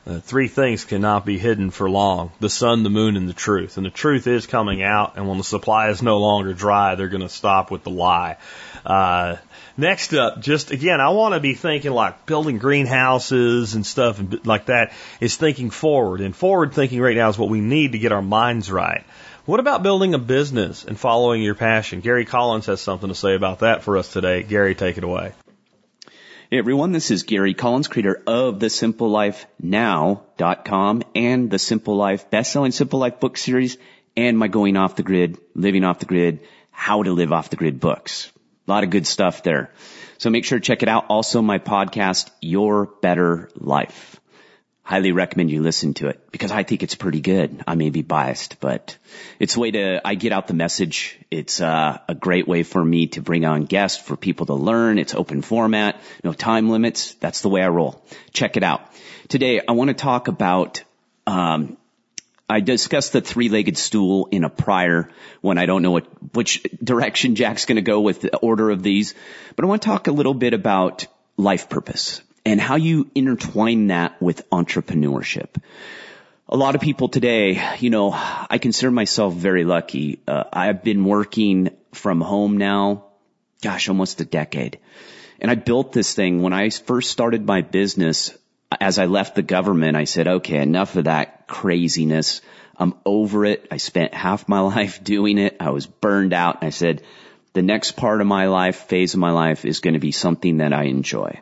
Uh, three things cannot be hidden for long: the sun, the moon, and the truth. And the truth is coming out, and when the supply is no longer dry, they're going to stop with the lie. Uh, next up, just again, I want to be thinking like building greenhouses and stuff and like that is thinking forward. And forward thinking right now is what we need to get our minds right. What about building a business and following your passion? Gary Collins has something to say about that for us today. Gary, take it away. Hey everyone, this is Gary Collins, creator of the simple life now dot com and the Simple Life, best-selling Simple Life book series, and my Going Off the Grid, Living Off the Grid, How to Live Off the Grid books. A lot of good stuff there. So make sure to check it out. Also my podcast, Your Better Life. Highly recommend you listen to it because I think it's pretty good. I may be biased, but it's a way to, I get out the message. It's uh, a great way for me to bring on guests for people to learn. It's open format, no time limits. That's the way I roll. Check it out. Today, I want to talk about, um, I discussed the three-legged stool in a prior one. I don't know what, which direction Jack's going to go with the order of these, but I want to talk a little bit about life purpose and how you intertwine that with entrepreneurship. A lot of people today, you know, I consider myself very lucky. Uh, I've been working from home now, gosh, almost a decade. And I built this thing. When I first started my business, as I left the government, I said, okay, enough of that craziness. I'm over it. I spent half my life doing it. I was burned out. I said, the next part of my life, phase of my life, is going to be something that I enjoy.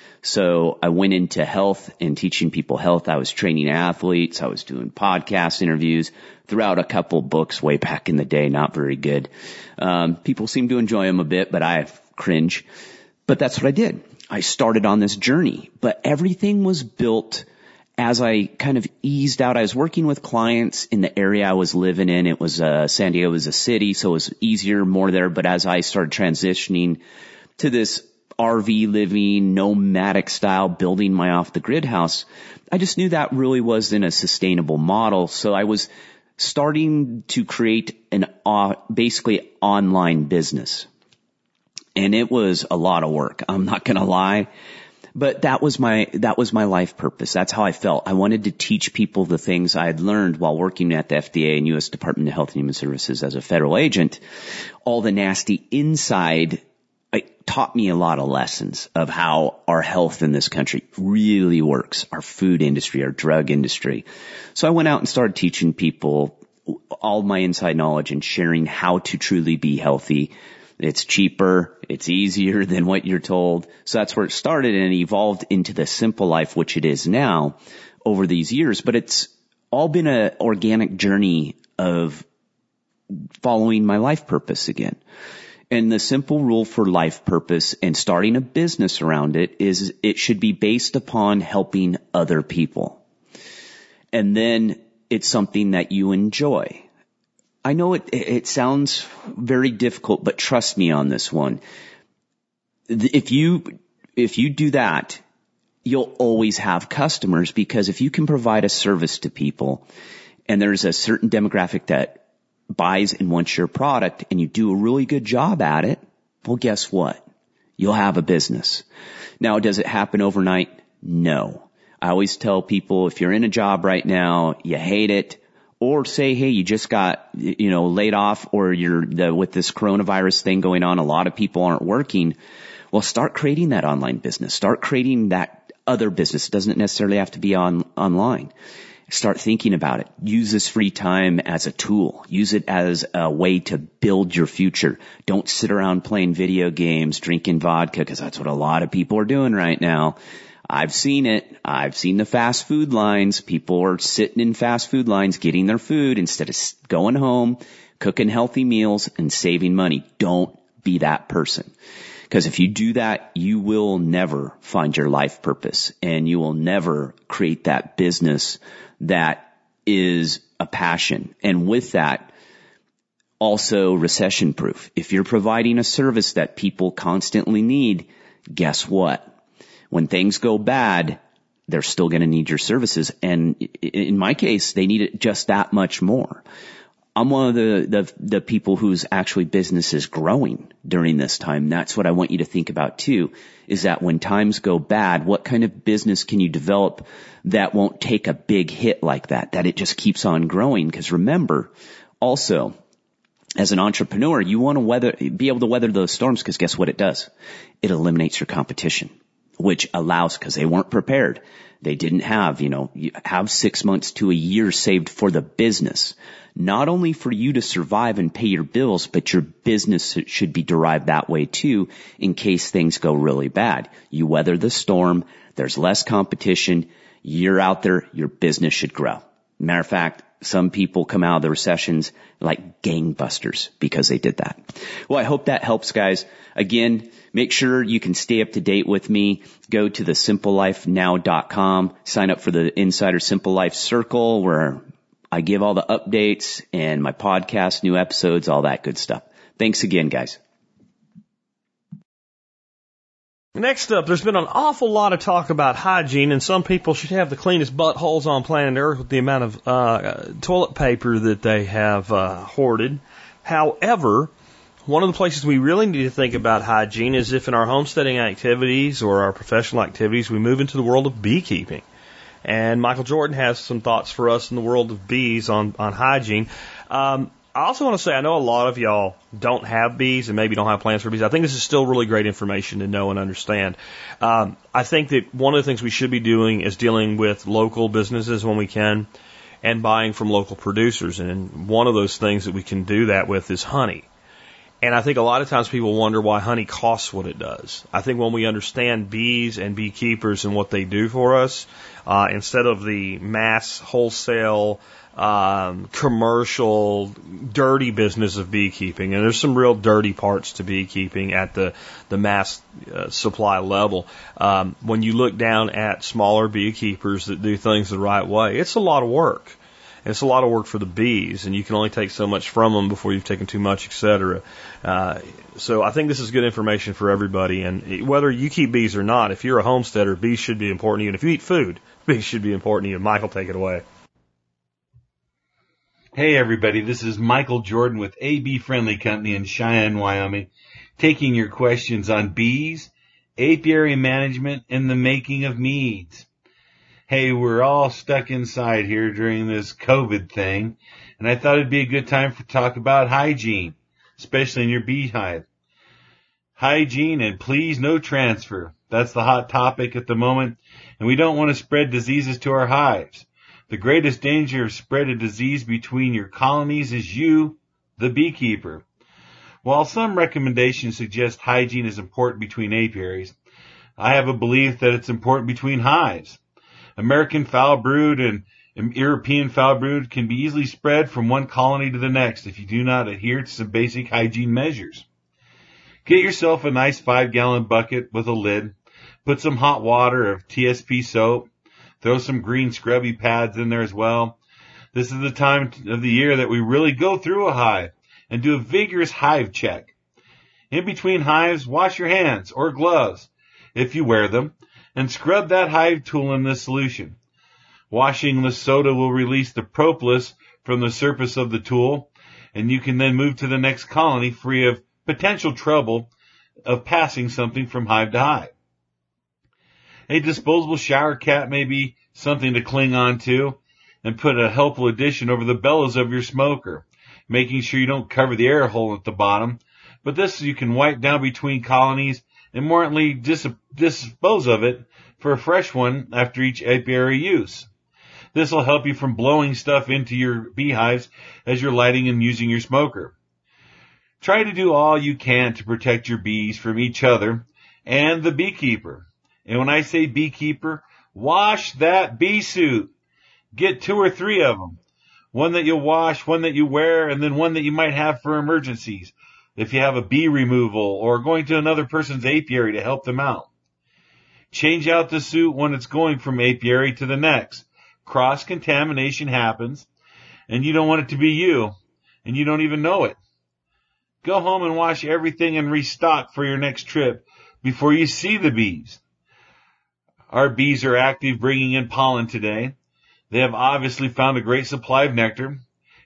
So I went into health and teaching people health. I was training athletes. I was doing podcast interviews, throughout a couple books way back in the day, not very good. Um, people seem to enjoy them a bit, but I cringe. But that's what I did. I started on this journey, but everything was built as I kind of eased out. I was working with clients in the area I was living in. It was, uh, San Diego was a city, so it was easier, more there. But as I started transitioning to this R V living, nomadic style, building my off the grid house, I just knew that really wasn't a sustainable model. So I was starting to create an, uh, basically online business. And it was a lot of work. I'm not going to lie, but that was my, that was my life purpose. That's how I felt. I wanted to teach people the things I had learned while working at the F D A and U S Department of Health and Human Services as a federal agent. All the nasty inside, it taught me a lot of lessons of how our health in this country really works, our food industry, our drug industry. So I went out and started teaching people all my inside knowledge and sharing how to truly be healthy. It's cheaper. It's easier than what you're told. So that's where it started and evolved into the Simple Life, which it is now over these years. But it's all been an organic journey of following my life purpose again. And the simple rule for life purpose and starting a business around it is it should be based upon helping other people. And then it's something that you enjoy. I know it, it sounds very difficult, but trust me on this one. If you, if you do that, you'll always have customers, because if you can provide a service to people and there's a certain demographic that buys and wants your product and you do a really good job at it, well, guess what? You'll have a business. Now, does it happen overnight? No. I always tell people, if you're in a job right now, you hate it, or say, hey, you just got, you know, laid off, or you're the, with this coronavirus thing going on, a lot of people aren't working. Well, start creating that online business. Start creating that other business. It doesn't necessarily have to be on online. Start thinking about it. Use this free time as a tool. Use it as a way to build your future. Don't sit around playing video games, drinking vodka, because that's what a lot of people are doing right now. I've seen it. I've seen the fast food lines. People are sitting in fast food lines getting their food instead of going home, cooking healthy meals, and saving money. Don't be that person. Because if you do that, you will never find your life purpose, and you will never create that business that is a passion. And with that, also recession proof. If you're providing a service that people constantly need, guess what? When things go bad, they're still going to need your services. And in my case, they need it just that much more. I'm one of the, the, the people whose actually business is growing during this time. That's what I want you to think about too, is that when times go bad, what kind of business can you develop that won't take a big hit like that, that it just keeps on growing? Because remember, also, as an entrepreneur, you want to weather, be able to weather those storms, because guess what it does? It eliminates your competition, which allows, because they weren't prepared. They didn't have, you know, you have six months to a year saved for the business. Not only for you to survive and pay your bills, but your business should be derived that way too, in case things go really bad. You weather the storm, there's less competition, you're out there, your business should grow. Matter of fact, some people come out of the recessions like gangbusters because they did that. Well, I hope that helps, guys. Again, make sure you can stay up to date with me. Go to the simple life now dot com. Sign up for the Insider Simple Life Circle, where I give all the updates and my podcast, new episodes, all that good stuff. Thanks again, guys. Next up, there's been an awful lot of talk about hygiene, and some people should have the cleanest buttholes on planet Earth with the amount of uh, toilet paper that they have uh, hoarded. However, one of the places we really need to think about hygiene is if in our homesteading activities or our professional activities we move into the world of beekeeping. And Michael Jordan has some thoughts for us in the world of bees on, on hygiene. Um, I also want to say, I know a lot of y'all don't have bees and maybe don't have plans for bees. I think this is still really great information to know and understand. Um, I think that one of the things we should be doing is dealing with local businesses when we can and buying from local producers. And one of those things that we can do that with is honey. And I think a lot of times people wonder why honey costs what it does. I think when we understand bees and beekeepers and what they do for us, uh, instead of the mass wholesale Um, commercial, dirty business of beekeeping, and there's some real dirty parts to beekeeping at the the mass uh, supply level. Um, when you look down at smaller beekeepers that do things the right way, it's a lot of work. It's a lot of work for the bees, and you can only take so much from them before you've taken too much, et cetera. Uh, so I think this is good information for everybody, and whether you keep bees or not, if you're a homesteader, bees should be important to you, and if you eat food, bees should be important to you. Michael, take it away. Hey everybody, this is Michael Jordan with A B Friendly Company in Cheyenne, Wyoming, taking your questions on bees, apiary management, and the making of meads. Hey, we're all stuck inside here during this COVID thing, and I thought it'd be a good time to talk about hygiene, especially in your beehive. Hygiene and please no transfer. That's the hot topic at the moment, and we don't want to spread diseases to our hives. The greatest danger of spread of disease between your colonies is you, the beekeeper. While some recommendations suggest hygiene is important between apiaries, I have a belief that it's important between hives. American foul brood and European foul brood can be easily spread from one colony to the next if you do not adhere to some basic hygiene measures. Get yourself a nice five-gallon bucket with a lid. Put some hot water of T S P soap. Throw some green scrubby pads in there as well. This is the time of the year that we really go through a hive and do a vigorous hive check. In between hives, wash your hands or gloves, if you wear them, and scrub that hive tool in this solution. Washing the soda will release the propolis from the surface of the tool, and you can then move to the next colony free of potential trouble of passing something from hive to hive. A disposable shower cap may be something to cling on to and put a helpful addition over the bellows of your smoker, making sure you don't cover the air hole at the bottom. But this you can wipe down between colonies and more importantly dis- dispose of it for a fresh one after each apiary use. This will help you from blowing stuff into your beehives as you're lighting and using your smoker. Try to do all you can to protect your bees from each other and the beekeeper. And when I say beekeeper, wash that bee suit. Get two or three of them. One that you wash, one that you wear, and then one that you might have for emergencies. If you have a bee removal or going to another person's apiary to help them out. Change out the suit when it's going from apiary to the next. Cross-contamination happens, and you don't want it to be you, and you don't even know it. Go home and wash everything and restock for your next trip before you see the bees. Our bees are active bringing in pollen today. They have obviously found a great supply of nectar.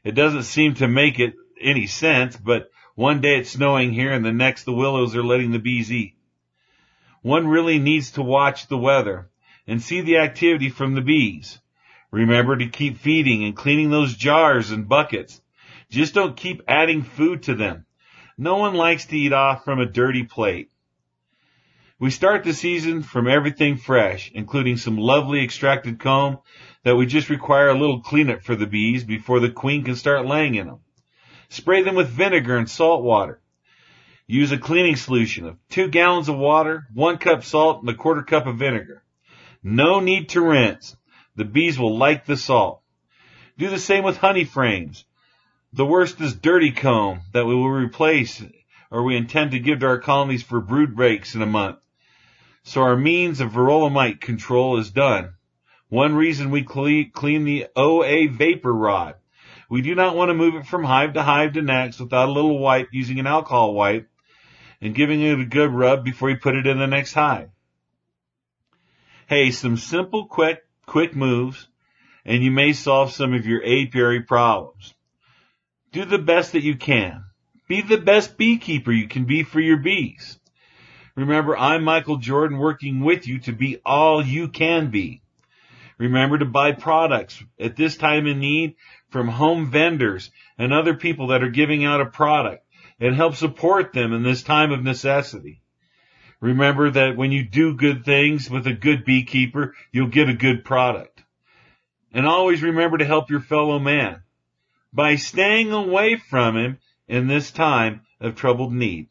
It doesn't seem to make it any sense, but one day it's snowing here and the next the willows are letting the bees eat. One really needs to watch the weather and see the activity from the bees. Remember to keep feeding and cleaning those jars and buckets. Just don't keep adding food to them. No one likes to eat off from a dirty plate. We start the season from everything fresh, including some lovely extracted comb that we just require a little cleanup for the bees before the queen can start laying in them. Spray them with vinegar and salt water. Use a cleaning solution of two gallons of water, one cup salt, and a quarter cup of vinegar. No need to rinse. The bees will like the salt. Do the same with honey frames. The worst is dirty comb that we will replace or we intend to give to our colonies for brood breaks in a month. So our means of varroa mite control is done. One reason we clean the O A vapor rod. We do not want to move it from hive to hive to next without a little wipe using an alcohol wipe and giving it a good rub before you put it in the next hive. Hey, some simple, quick, quick moves, and you may solve some of your apiary problems. Do the best that you can. Be the best beekeeper you can be for your bees. Remember, I'm Michael Jordan working with you to be all you can be. Remember to buy products at this time in need from home vendors and other people that are giving out a product and help support them in this time of necessity. Remember that when you do good things with a good beekeeper, you'll get a good product. And always remember to help your fellow man by staying away from him in this time of troubled need.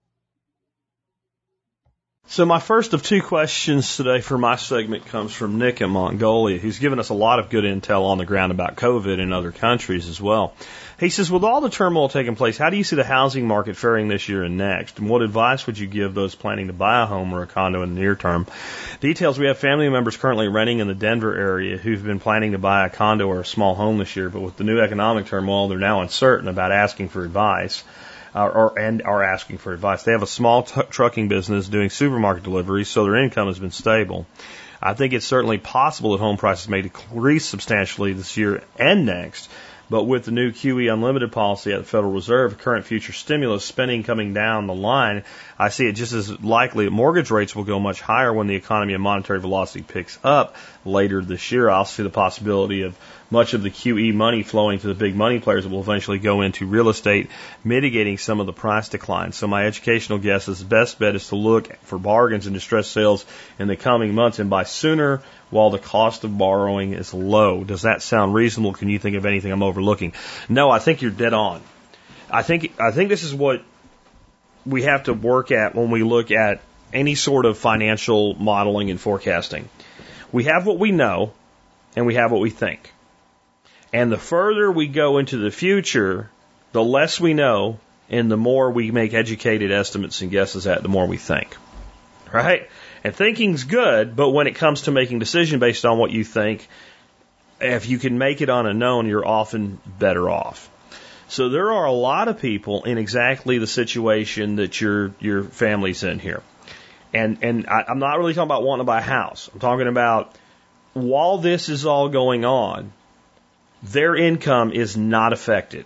So my first of two questions today for my segment comes from Nick in Mongolia, who's given us a lot of good intel on the ground about COVID in other countries as well. He says, with all the turmoil taking place, how do you see the housing market faring this year and next? And what advice would you give those planning to buy a home or a condo in the near term? Details, we have family members currently renting in the Denver area who've been planning to buy a condo or a small home this year, but with the new economic turmoil, they're now uncertain about asking for advice. Uh, or and are asking for advice. They have a small t- trucking business doing supermarket deliveries, so their income has been stable. I think it's certainly possible that home prices may decrease substantially this year and next, but with the new Q E Unlimited policy at the Federal Reserve, current future stimulus spending coming down the line, I see it just as likely that mortgage rates will go much higher when the economy and monetary velocity picks up later this year. I'll see the possibility of much of the Q E money flowing to the big money players that will eventually go into real estate, mitigating some of the price decline. So my educational guess is the best bet is to look for bargains and distressed sales in the coming months and buy sooner while the cost of borrowing is low. Does that sound reasonable? Can you think of anything I'm overlooking? No, I think you're dead on. I think I think this is what we have to work at when we look at any sort of financial modeling and forecasting. We have what we know, and we have what we think. And the further we go into the future, the less we know, and the more we make educated estimates and guesses at, the more we think. Right? And thinking's good, but when it comes to making a decision based on what you think, if you can make it on a known, you're often better off. So there are a lot of people in exactly the situation that your your family's in here. And and I, I'm not really talking about wanting to buy a house. I'm talking about while this is all going on, their income is not affected.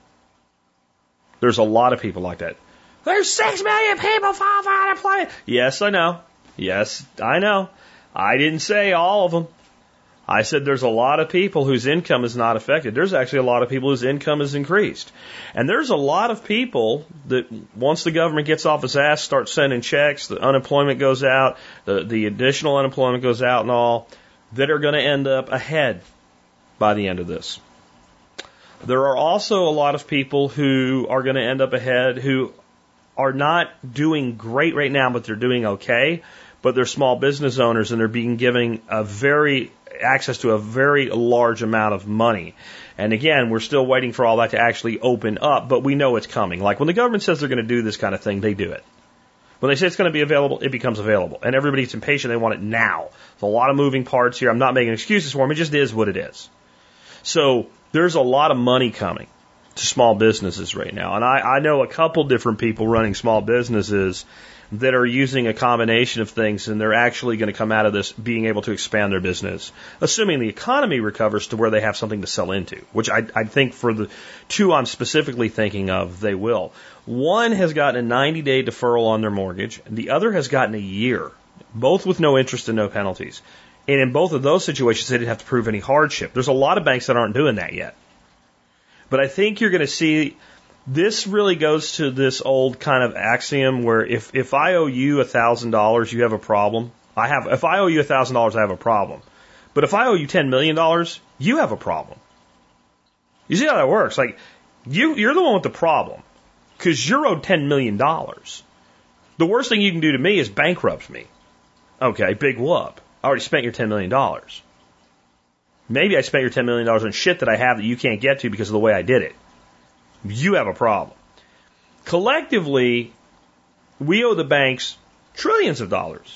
There's a lot of people like that. There's six million people fall for unemployment. Yes, I know. Yes, I know. I didn't say all of them. I said there's a lot of people whose income is not affected. There's actually a lot of people whose income is increased. And there's a lot of people that once the government gets off its ass, starts sending checks, the unemployment goes out, the, the additional unemployment goes out and all, that are going to end up ahead by the end of this. There are also a lot of people who are going to end up ahead who are not doing great right now, but they're doing okay. But they're small business owners and they're being given a very access to a very large amount of money. And again, we're still waiting for all that to actually open up, but we know it's coming. Like when the government says they're going to do this kind of thing, they do it. When they say it's going to be available, it becomes available. And everybody's impatient. They want it now. There's a lot of moving parts here. I'm not making excuses for them. It just is what it is. So there's a lot of money coming to small businesses right now. And I, I know a couple different people running small businesses that are using a combination of things, and they're actually going to come out of this being able to expand their business, assuming the economy recovers to where they have something to sell into, which I, I think for the two I'm specifically thinking of, they will. One has gotten a ninety-day deferral on their mortgage, and the other has gotten a year, both with no interest and no penalties. And in both of those situations, they didn't have to prove any hardship. There's a lot of banks that aren't doing that yet. But I think you're going to see, this really goes to this old kind of axiom where if, if I owe you one thousand dollars, you have a problem. I have, if I owe you one thousand dollars, I have a problem. But if I owe you ten million dollars, you have a problem. You see how that works? Like, you, you're the one with the problem because you're owed ten million dollars. The worst thing you can do to me is bankrupt me. Okay, big whoop. I already spent your ten million dollars. Maybe I spent your ten million dollars on shit that I have that you can't get to because of the way I did it. You have a problem. Collectively, we owe the banks trillions of dollars.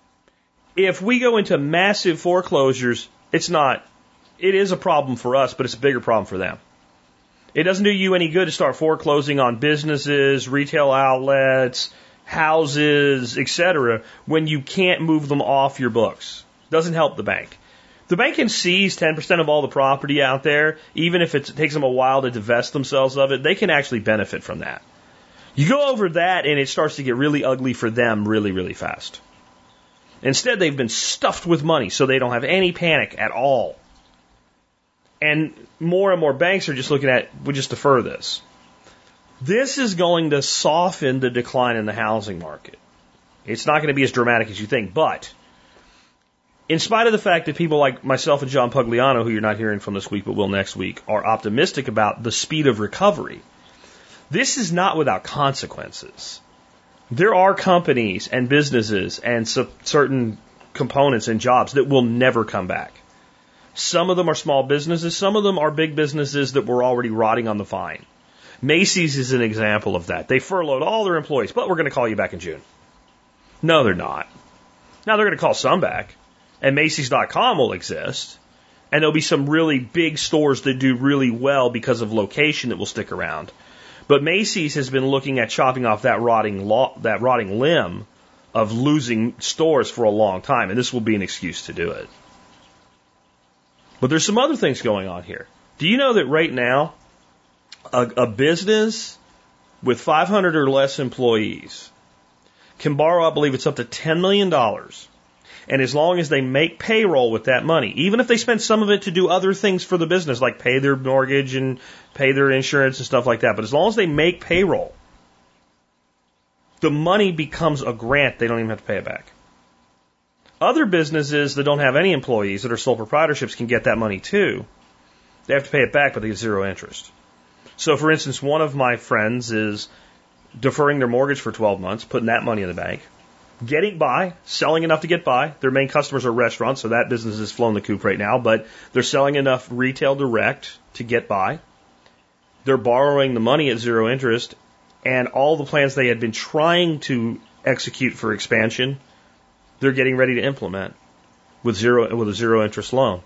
If we go into massive foreclosures, it's not, it is a problem for us, but it's a bigger problem for them. It doesn't do you any good to start foreclosing on businesses, retail outlets, houses, et cetera, when you can't move them off your books. Doesn't help the bank. The bank can seize ten percent of all the property out there, even if it takes them a while to divest themselves of it, they can actually benefit from that. You go over that and it starts to get really ugly for them really, really fast. Instead, they've been stuffed with money, so they don't have any panic at all. And more and more banks are just looking at, we'll just defer this. This is going to soften the decline in the housing market. It's not going to be as dramatic as you think, but in spite of the fact that people like myself and John Pugliano, who you're not hearing from this week but will next week, are optimistic about the speed of recovery, this is not without consequences. There are companies and businesses and certain components and jobs that will never come back. Some of them are small businesses. Some of them are big businesses that were already rotting on the vine. Macy's is an example of that. They furloughed all their employees, but we're going to call you back in June. No, they're not. Now they're going to call some back, and Macy's dot com will exist, and there'll be some really big stores that do really well because of location that will stick around. But Macy's has been looking at chopping off that rotting lo- that rotting limb of losing stores for a long time, and this will be an excuse to do it. But there's some other things going on here. Do you know that right now, a, a business with five hundred or less employees can borrow, I believe it's up to ten million dollars. And as long as they make payroll with that money, even if they spend some of it to do other things for the business, like pay their mortgage and pay their insurance and stuff like that, but as long as they make payroll, the money becomes a grant. They don't even have to pay it back. Other businesses that don't have any employees, that are sole proprietorships, can get that money too. They have to pay it back, but they get zero interest. So, for instance, one of my friends is deferring their mortgage for twelve months, putting that money in the bank, getting by, selling enough to get by. Their main customers are restaurants, so that business is flown the coop right now, but they're selling enough retail direct to get by. They're borrowing the money at zero interest, and all the plans they had been trying to execute for expansion, they're getting ready to implement with zero with a zero interest loan.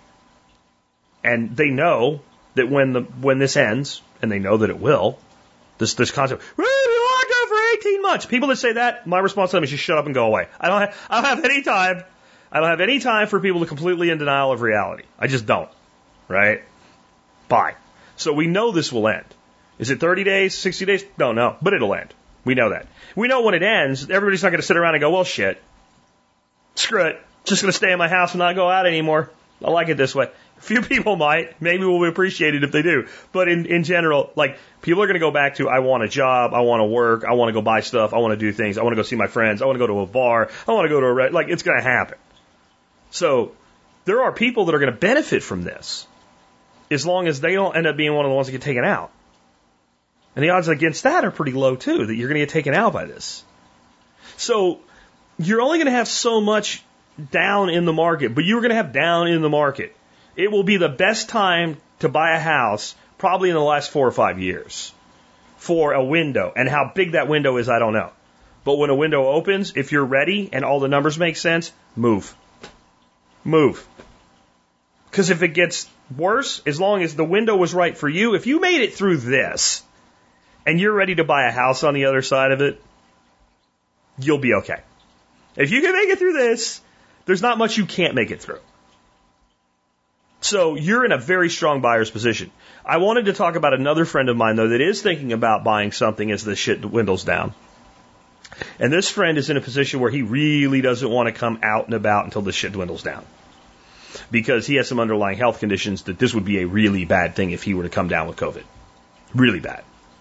And they know that when the when this ends, and they know that it will, this this concept, we've been locked up for eighteen months. People that say that, my response to them is just shut up and go away. I don't have, I don't have any time. I don't have any time for people to completely in denial of reality. I just don't. Right? Bye. So we know this will end. Is it thirty days, sixty days? Don't know, but it'll end. We know that. We know when it ends, everybody's not going to sit around and go, well, shit. Screw it. Just going to stay in my house and not go out anymore. I like it this way. A few people might. Maybe we'll appreciate it if they do. But in, in general, like, people are going to go back to, I want a job, I want to work, I want to go buy stuff, I want to do things, I want to go see my friends, I want to go to a bar, I want to go to a, re- like, it's going to happen. So, there are people that are going to benefit from this, as long as they don't end up being one of the ones that get taken out. And the odds against that are pretty low, too, that you're going to get taken out by this. So, you're only going to have so much down in the market, but you're going to have down in the market. It will be the best time to buy a house probably in the last four or five years for a window. And how big that window is, I don't know. But when a window opens, if you're ready and all the numbers make sense, move. Move. Because if it gets worse, as long as the window was right for you, if you made it through this and you're ready to buy a house on the other side of it, you'll be okay. If you can make it through this, there's not much you can't make it through. So you're in a very strong buyer's position. I wanted to talk about another friend of mine, though, that is thinking about buying something as this shit dwindles down. And this friend is in a position where he really doesn't want to come out and about until this shit dwindles down. Because he has some underlying health conditions that this would be a really bad thing if he were to come down with COVID. Really bad.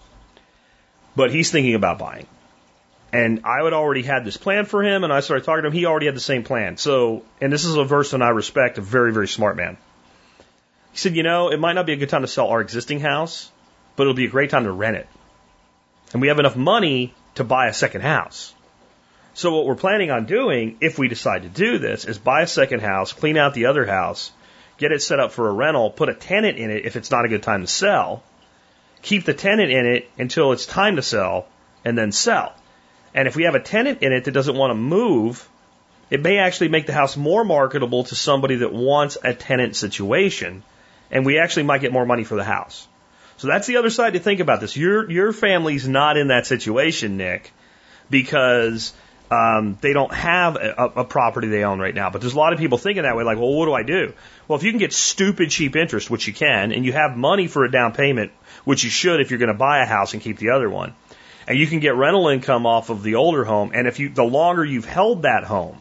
But he's thinking about buying. And I had already had this plan for him, and I started talking to him. He already had the same plan. So, and this is a person I respect, a very, very smart man. He said, you know, it might not be a good time to sell our existing house, but it'll be a great time to rent it. And we have enough money to buy a second house. So what we're planning on doing, if we decide to do this, is buy a second house, clean out the other house, get it set up for a rental, put a tenant in it if it's not a good time to sell, keep the tenant in it until it's time to sell, and then sell. And if we have a tenant in it that doesn't want to move, it may actually make the house more marketable to somebody that wants a tenant situation, and we actually might get more money for the house. So that's the other side to think about this. Your your family's not in that situation, Nick, because um, they don't have a, a property they own right now. But there's a lot of people thinking that way, like, well, what do I do? Well, if you can get stupid cheap interest, which you can, and you have money for a down payment, which you should if you're going to buy a house and keep the other one, and you can get rental income off of the older home, and if you the longer you've held that home,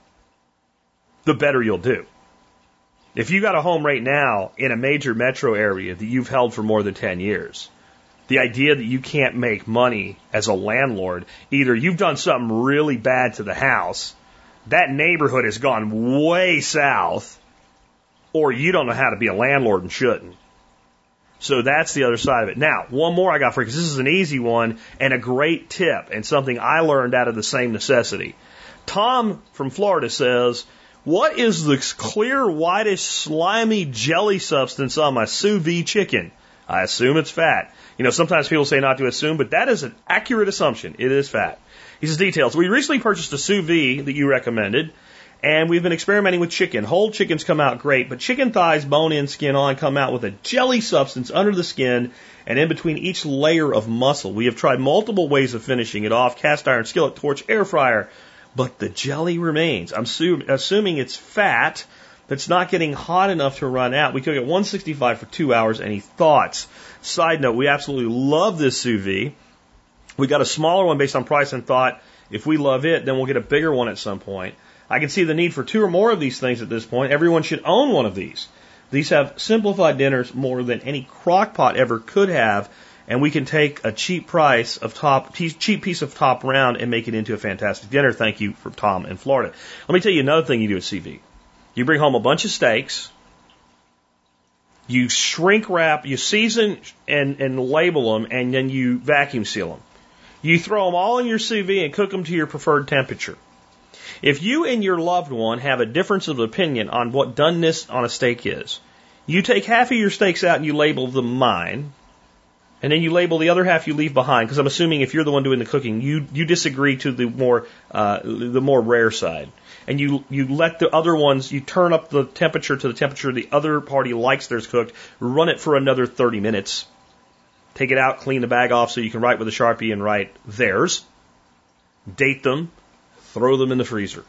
the better you'll do. If you got a home right now in a major metro area that you've held for more than ten years, the idea that you can't make money as a landlord, either you've done something really bad to the house, that neighborhood has gone way south, or you don't know how to be a landlord and shouldn't. So that's the other side of it. Now, one more I got for you, because this is an easy one and a great tip and something I learned out of the same necessity. Tom from Florida says, what is the clear, whitish, slimy jelly substance on my sous vide chicken? I assume it's fat. You know, sometimes people say not to assume, but that is an accurate assumption. It is fat. He says details. We recently purchased a sous vide that you recommended, and we've been experimenting with chicken. Whole chickens come out great, but chicken thighs, bone in, skin on, come out with a jelly substance under the skin and in between each layer of muscle. We have tried multiple ways of finishing it off, cast iron, skillet, torch, air fryer, but the jelly remains. I'm su- assuming it's fat that's not getting hot enough to run out. We cook at one sixty-five for two hours. Any thoughts? Side note, we absolutely love this sous vide. We got a smaller one based on price and thought if we love it, then we'll get a bigger one at some point. I can see the need for two or more of these things at this point. Everyone should own one of these. These have simplified dinners more than any crock pot ever could have, and we can take a cheap price of top, cheap piece of top round and make it into a fantastic dinner. Thank you for Tom in Florida. Let me tell you another thing you do at C V. You bring home a bunch of steaks, you shrink wrap, you season and, and label them, and then you vacuum seal them. You throw them all in your sous vide and cook them to your preferred temperature. If you and your loved one have a difference of opinion on what doneness on a steak is, you take half of your steaks out and you label them mine, and then you label the other half you leave behind, because I'm assuming if you're the one doing the cooking, you, you disagree to the more uh, the more rare side. And you, you let the other ones, you turn up the temperature to the temperature the other party likes theirs cooked, run it for another thirty minutes, take it out, clean the bag off so you can write with a Sharpie and write theirs, date them, throw them in the freezer.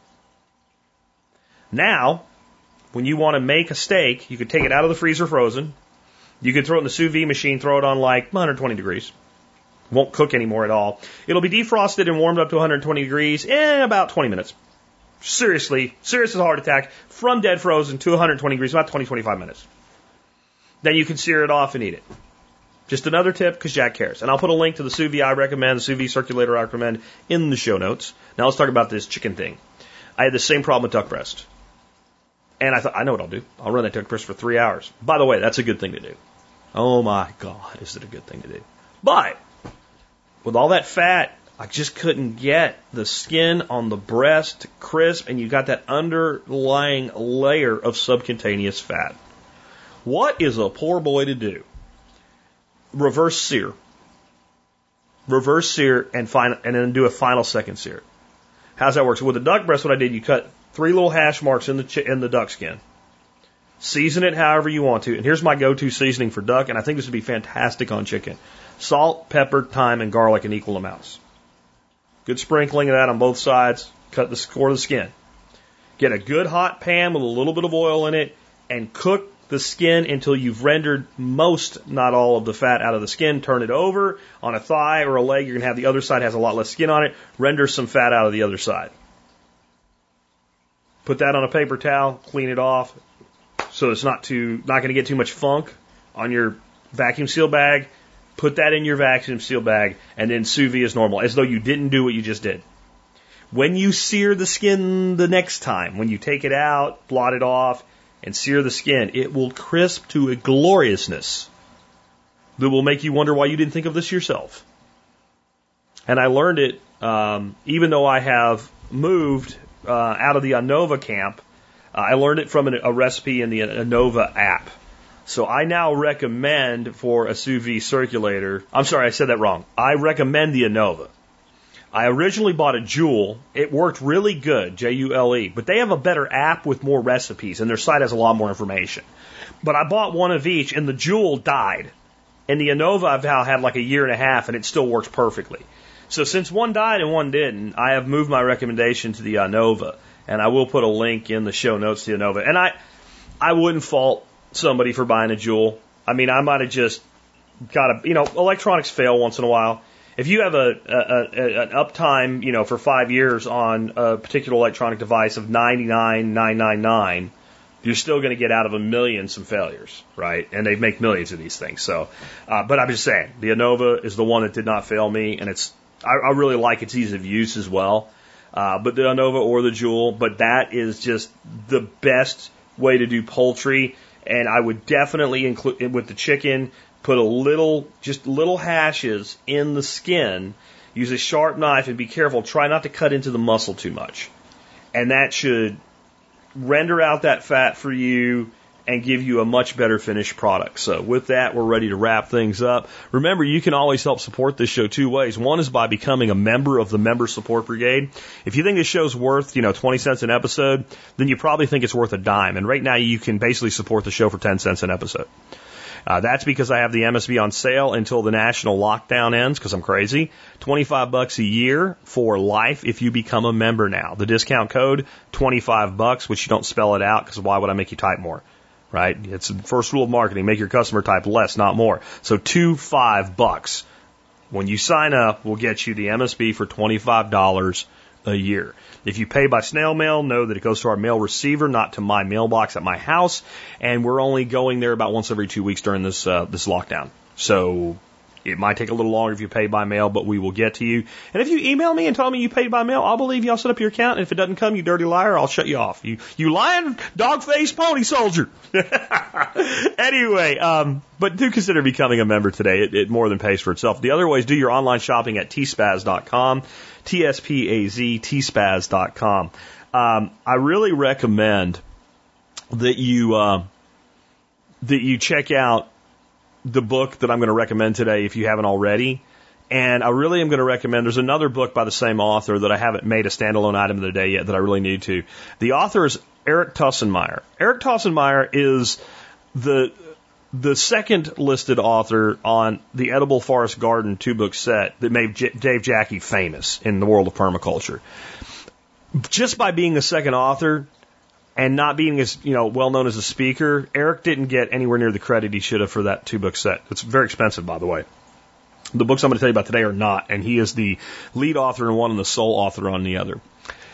Now, when you want to make a steak, you could take it out of the freezer frozen. You could throw it in the sous vide machine, throw it on like one hundred twenty degrees. Won't cook anymore at all. It'll be defrosted and warmed up to one hundred twenty degrees in about twenty minutes. Seriously, serious as a heart attack, from dead frozen to one hundred twenty degrees, about twenty to twenty-five minutes. Then you can sear it off and eat it. Just another tip, because Jack cares. And I'll put a link to the sous vide I recommend, the sous vide circulator I recommend, in the show notes. Now let's talk about this chicken thing. I had the same problem with duck breast. And I thought, I know what I'll do. I'll run that duck breast for three hours. By the way, that's a good thing to do. Oh my God, is it a good thing to do. But, with all that fat, I just couldn't get the skin on the breast crisp, and you got that underlying layer of subcutaneous fat. What is a poor boy to do? Reverse sear. Reverse sear and final, and then do a final second sear. How's that work? So with the duck breast, what I did, you cut three little hash marks in the chi- in the duck skin. Season it however you want to. And here's my go-to seasoning for duck, and I think this would be fantastic on chicken. Salt, pepper, thyme, and garlic in equal amounts. Good sprinkling of that on both sides. Cut the core of the skin. Get a good hot pan with a little bit of oil in it and cook the skin until you've rendered most, not all, of the fat out of the skin. Turn it over on a thigh or a leg. You're going to have the other side has a lot less skin on it. Render some fat out of the other side. Put that on a paper towel. Clean it off so it's not too not going to get too much funk on your vacuum seal bag. Put that in your vacuum seal bag and then sous vide as normal, as though you didn't do what you just did. When you sear the skin the next time, when you take it out, blot it off, and sear the skin, it will crisp to a gloriousness that will make you wonder why you didn't think of this yourself. And I learned it, um, even though I have moved uh, out of the Anova camp, uh, I learned it from an, a recipe in the Anova app. So I now recommend for a sous vide circulator, I'm sorry, I said that wrong. I recommend the Anova. I originally bought a Joule. It worked really good, J U L E, but they have a better app with more recipes, and their site has a lot more information. But I bought one of each, and the Joule died. And the Anova I've now had like a year and a half, and it still works perfectly. So since one died and one didn't, I have moved my recommendation to the Anova, and I will put a link in the show notes to the Anova. And I, I wouldn't fault somebody for buying a Joule. I mean, I might have just got a, you know, electronics fail once in a while. If you have a, a, a an uptime, you know, for five years on a particular electronic device of ninety-nine thousand nine hundred ninety-nine, you're still going to get out of a million some failures, right? And they make millions of these things. So, uh, but I'm just saying, the Anova is the one that did not fail me, and it's I, I really like its ease of use as well. Uh, but the Anova or the Joule, but that is just the best way to do poultry, and I would definitely include with the chicken. Put a little, just little hashes in the skin. Use a sharp knife and be careful. Try not to cut into the muscle too much. And that should render out that fat for you and give you a much better finished product. So with that, we're ready to wrap things up. Remember, you can always help support this show two ways. One is by becoming a member of the Member Support Brigade. If you think this show's worth, you know, twenty cents an episode, then you probably think it's worth a dime. And right now, you can basically support the show for ten cents an episode. Uh, that's because I have the M S B on sale until the national lockdown ends, because I'm crazy. twenty-five bucks a year for life if you become a member now. The discount code, twenty-five bucks, which you don't spell it out, because why would I make you type more? Right? It's the first rule of marketing. Make your customer type less, not more. So two, five bucks. When you sign up, we'll get you the M S B for twenty-five dollars a year. If you pay by snail mail, know that it goes to our mail receiver, not to my mailbox at my house. And we're only going there about once every two weeks during this uh, this lockdown. So it might take a little longer if you pay by mail, but we will get to you. And if you email me and tell me you paid by mail, I'll believe you. I'll set up your account. And if it doesn't come, you dirty liar, I'll shut you off. You you lying dog-faced pony soldier. Anyway, um, but do consider becoming a member today. It, it more than pays for itself. The other way is do your online shopping at T spaz dot com. T S P A Z, T spaz dot com. Um, I really recommend that you uh, that you check out the book that I'm going to recommend today if you haven't already. And I really am going to recommend, there's another book by the same author that I haven't made a standalone item of the day yet that I really need to. The author is Eric Tossenmeyer. Eric Tossenmeyer is the the second listed author on the Edible Forest Garden two-book set that made J- Dave Jacke famous in the world of permaculture. Just by being the second author and not being as, you know, well known as a speaker, Eric didn't get anywhere near the credit he should have for that two-book set. It's very expensive, by the way. The books I'm going to tell you about today are not, and he is the lead author on one and the sole author on the other.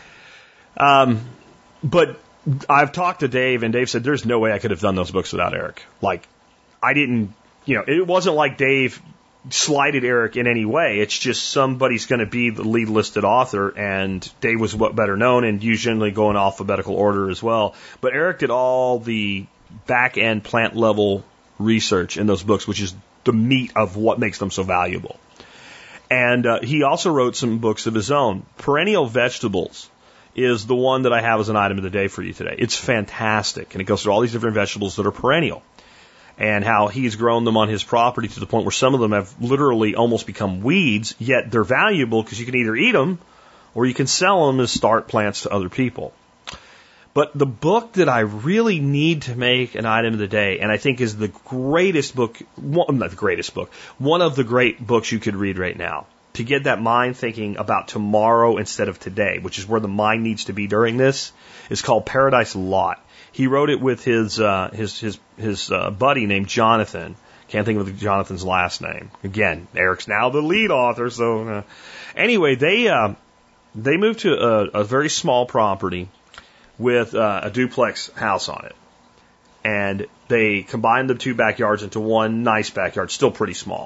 Um, but I've talked to Dave, and Dave said there's no way I could have done those books without Eric. Like, I didn't, you know, it wasn't like Dave slighted Eric in any way. It's just somebody's going to be the lead listed author, and Dave was what better known and usually go in alphabetical order as well. But Eric did all the back end plant level research in those books, which is the meat of what makes them so valuable. And uh, he also wrote some books of his own. Perennial Vegetables is the one that I have as an item of the day for you today. It's fantastic, and it goes through all these different vegetables that are perennial, and how he's grown them on his property to the point where some of them have literally almost become weeds, yet they're valuable because you can either eat them or you can sell them as start plants to other people. But the book that I really need to make an item of the day, and I think is the greatest book, one, not the greatest book, one of the great books you could read right now, to get that mind thinking about tomorrow instead of today, which is where the mind needs to be during this, is called Paradise Lot. He wrote it with his uh, his his his uh, buddy named Jonathan. Can't think of Jonathan's last name. Again, Eric's now the lead author. So uh, anyway, they uh, they moved to a, a very small property with uh, a duplex house on it, and they combined the two backyards into one nice backyard, still pretty small.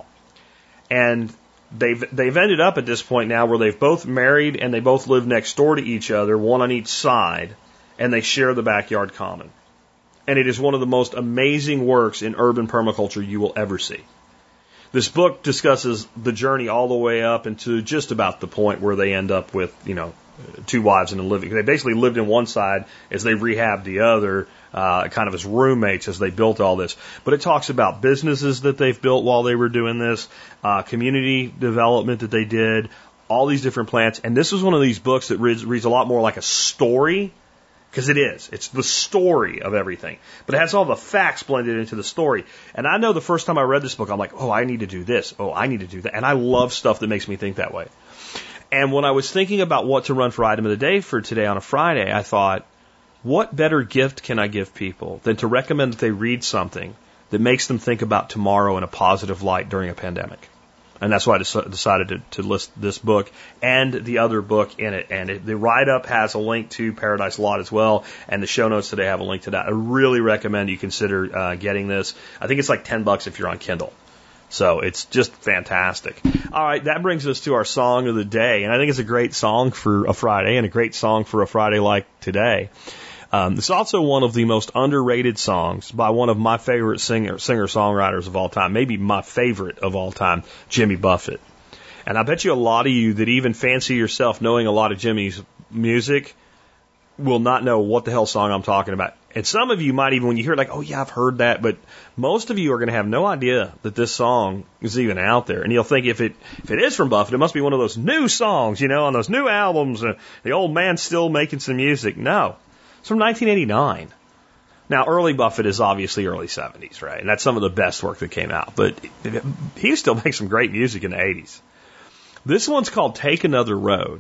And they've they've ended up at this point now where they've both married and they both live next door to each other, one on each side, and they share the backyard common. And it is one of the most amazing works in urban permaculture you will ever see. This book discusses the journey all the way up into just about the point where they end up with, you know, two wives and a living. They basically lived in one side as they rehabbed the other, uh, kind of as roommates as they built all this. But it talks about businesses that they've built while they were doing this, uh, community development that they did, all these different plants. And this is one of these books that reads, reads a lot more like a story, because it is. It's the story of everything. But it has all the facts blended into the story. And I know the first time I read this book, I'm like, oh, I need to do this. Oh, I need to do that. And I love stuff that makes me think that way. And when I was thinking about what to run for item of the day for today on a Friday, I thought, what better gift can I give people than to recommend that they read something that makes them think about tomorrow in a positive light during a pandemic? And that's why I decided to, to list this book and the other book in it. And it, the write-up has a link to Paradise Lot as well, and the show notes today have a link to that. I really recommend you consider uh, getting this. I think it's like ten bucks if you're on Kindle. So it's just fantastic. All right, that brings us to our song of the day. And I think it's a great song for a Friday and a great song for a Friday like today. Um, it's also one of the most underrated songs by one of my favorite singer, singer-songwriters of all time, maybe my favorite of all time, Jimmy Buffett. And I bet you a lot of you that even fancy yourself knowing a lot of Jimmy's music will not know what the hell song I'm talking about. And some of you might even, when you hear it, like, oh yeah, I've heard that, but most of you are going to have no idea that this song is even out there. And you'll think if it if it is from Buffett, it must be one of those new songs, you know, on those new albums, uh, the old man's still making some music. No. It's from nineteen eighty-nine. Now, early Buffett is obviously early seventies, right? And that's some of the best work that came out. But he still makes some great music in the eighties. This one's called Take Another Road.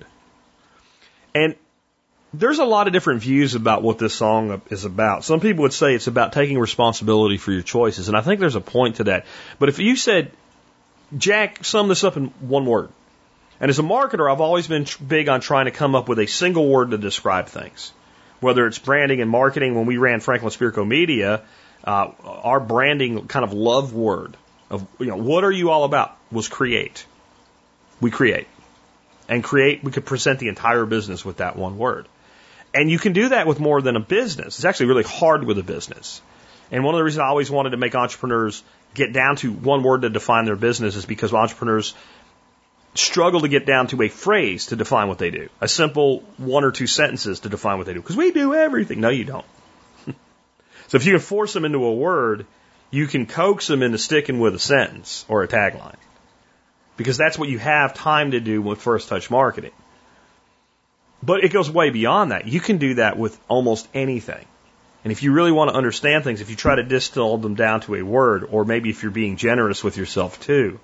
And there's a lot of different views about what this song is about. Some people would say it's about taking responsibility for your choices. And I think there's a point to that. But if you said, Jack, sum this up in one word. And as a marketer, I've always been big on trying to come up with a single word to describe things. Whether it's branding and marketing, when we ran Franklin Spirko Media, uh, our branding kind of love word of, you know, what are you all about was create. We create. And create, we could present the entire business with that one word. And you can do that with more than a business. It's actually really hard with a business. And one of the reasons I always wanted to make entrepreneurs get down to one word to define their business is because entrepreneurs struggle to get down to a phrase to define what they do. A simple one or two sentences to define what they do. Because we do everything. No, you don't. So if you can force them into a word, you can coax them into sticking with a sentence or a tagline. Because that's what you have time to do with First Touch Marketing. But it goes way beyond that. You can do that with almost anything. And if you really want to understand things, if you try to distill them down to a word, or maybe if you're being generous with yourself too,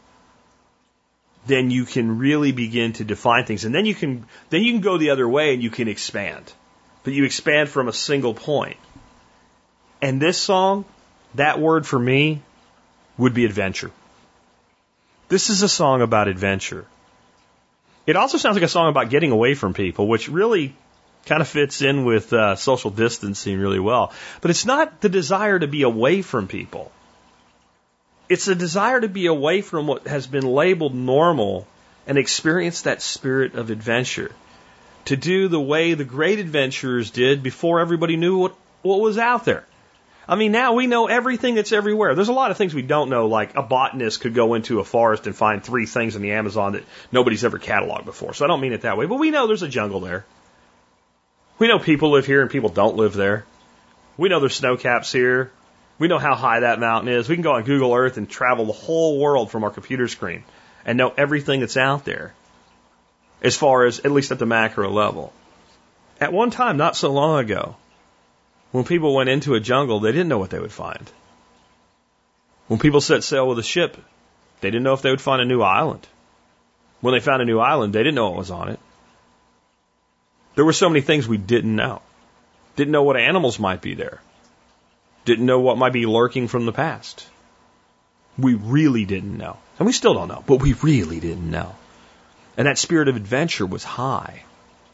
then you can really begin to define things. And then you can, then you can go the other way and you can expand. But you expand from a single point. And this song, that word for me would be adventure. This is a song about adventure. It also sounds like a song about getting away from people, which really kind of fits in with uh, social distancing really well. But it's not the desire to be away from people. It's a desire to be away from what has been labeled normal and experience that spirit of adventure. To do the way the great adventurers did before everybody knew what, what was out there. I mean, now we know everything that's everywhere. There's a lot of things we don't know, like a botanist could go into a forest and find three things in the Amazon that nobody's ever cataloged before. So I don't mean it that way, but we know there's a jungle there. We know people live here and people don't live there. We know there's snow caps here. We know how high that mountain is. We can go on Google Earth and travel the whole world from our computer screen and know everything that's out there, as far as, at least at the macro level. At one time, not so long ago, when people went into a jungle, they didn't know what they would find. When people set sail with a ship, they didn't know if they would find a new island. When they found a new island, they didn't know what was on it. There were so many things we didn't know. Didn't know what animals might be there. Didn't know what might be lurking from the past. We really didn't know. And we still don't know, but we really didn't know. And that spirit of adventure was high.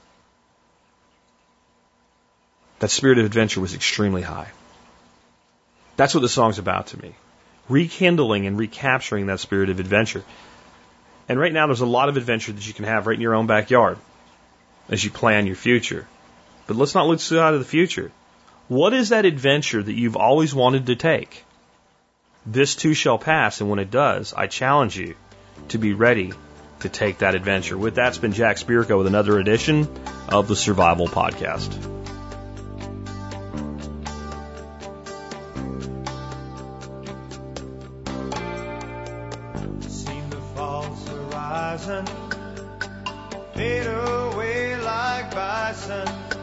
That spirit of adventure was extremely high. That's what the song's about to me. Rekindling and recapturing that spirit of adventure. And right now there's a lot of adventure that you can have right in your own backyard as you plan your future. But let's not lose sight of the future. What is that adventure that you've always wanted to take? This too shall pass, and when it does, I challenge you to be ready to take that adventure. With that, it's been Jack Spirko with another edition of the Survival Podcast. Seen the false horizon fade away like bison,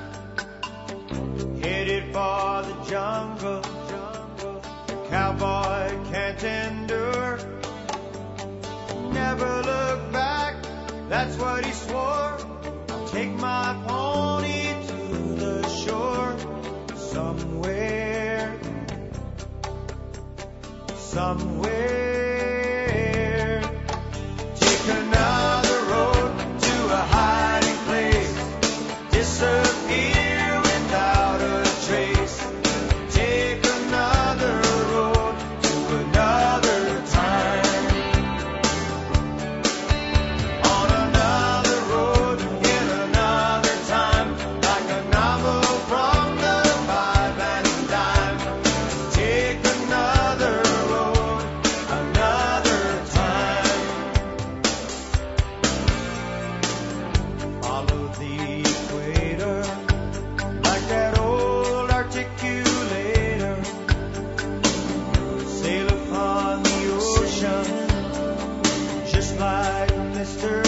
headed for the jungle, the cowboy can't endure. Never look back, that's what he swore. I'll take my pony to the shore. Somewhere, somewhere. Take another road to a hiding place. Disappear without a trace. Take another road to another time. On another road in another time. Like a novel from the five and dime. Take another road another time. Follow the equator like that old articulator. Sail upon the ocean just like Mister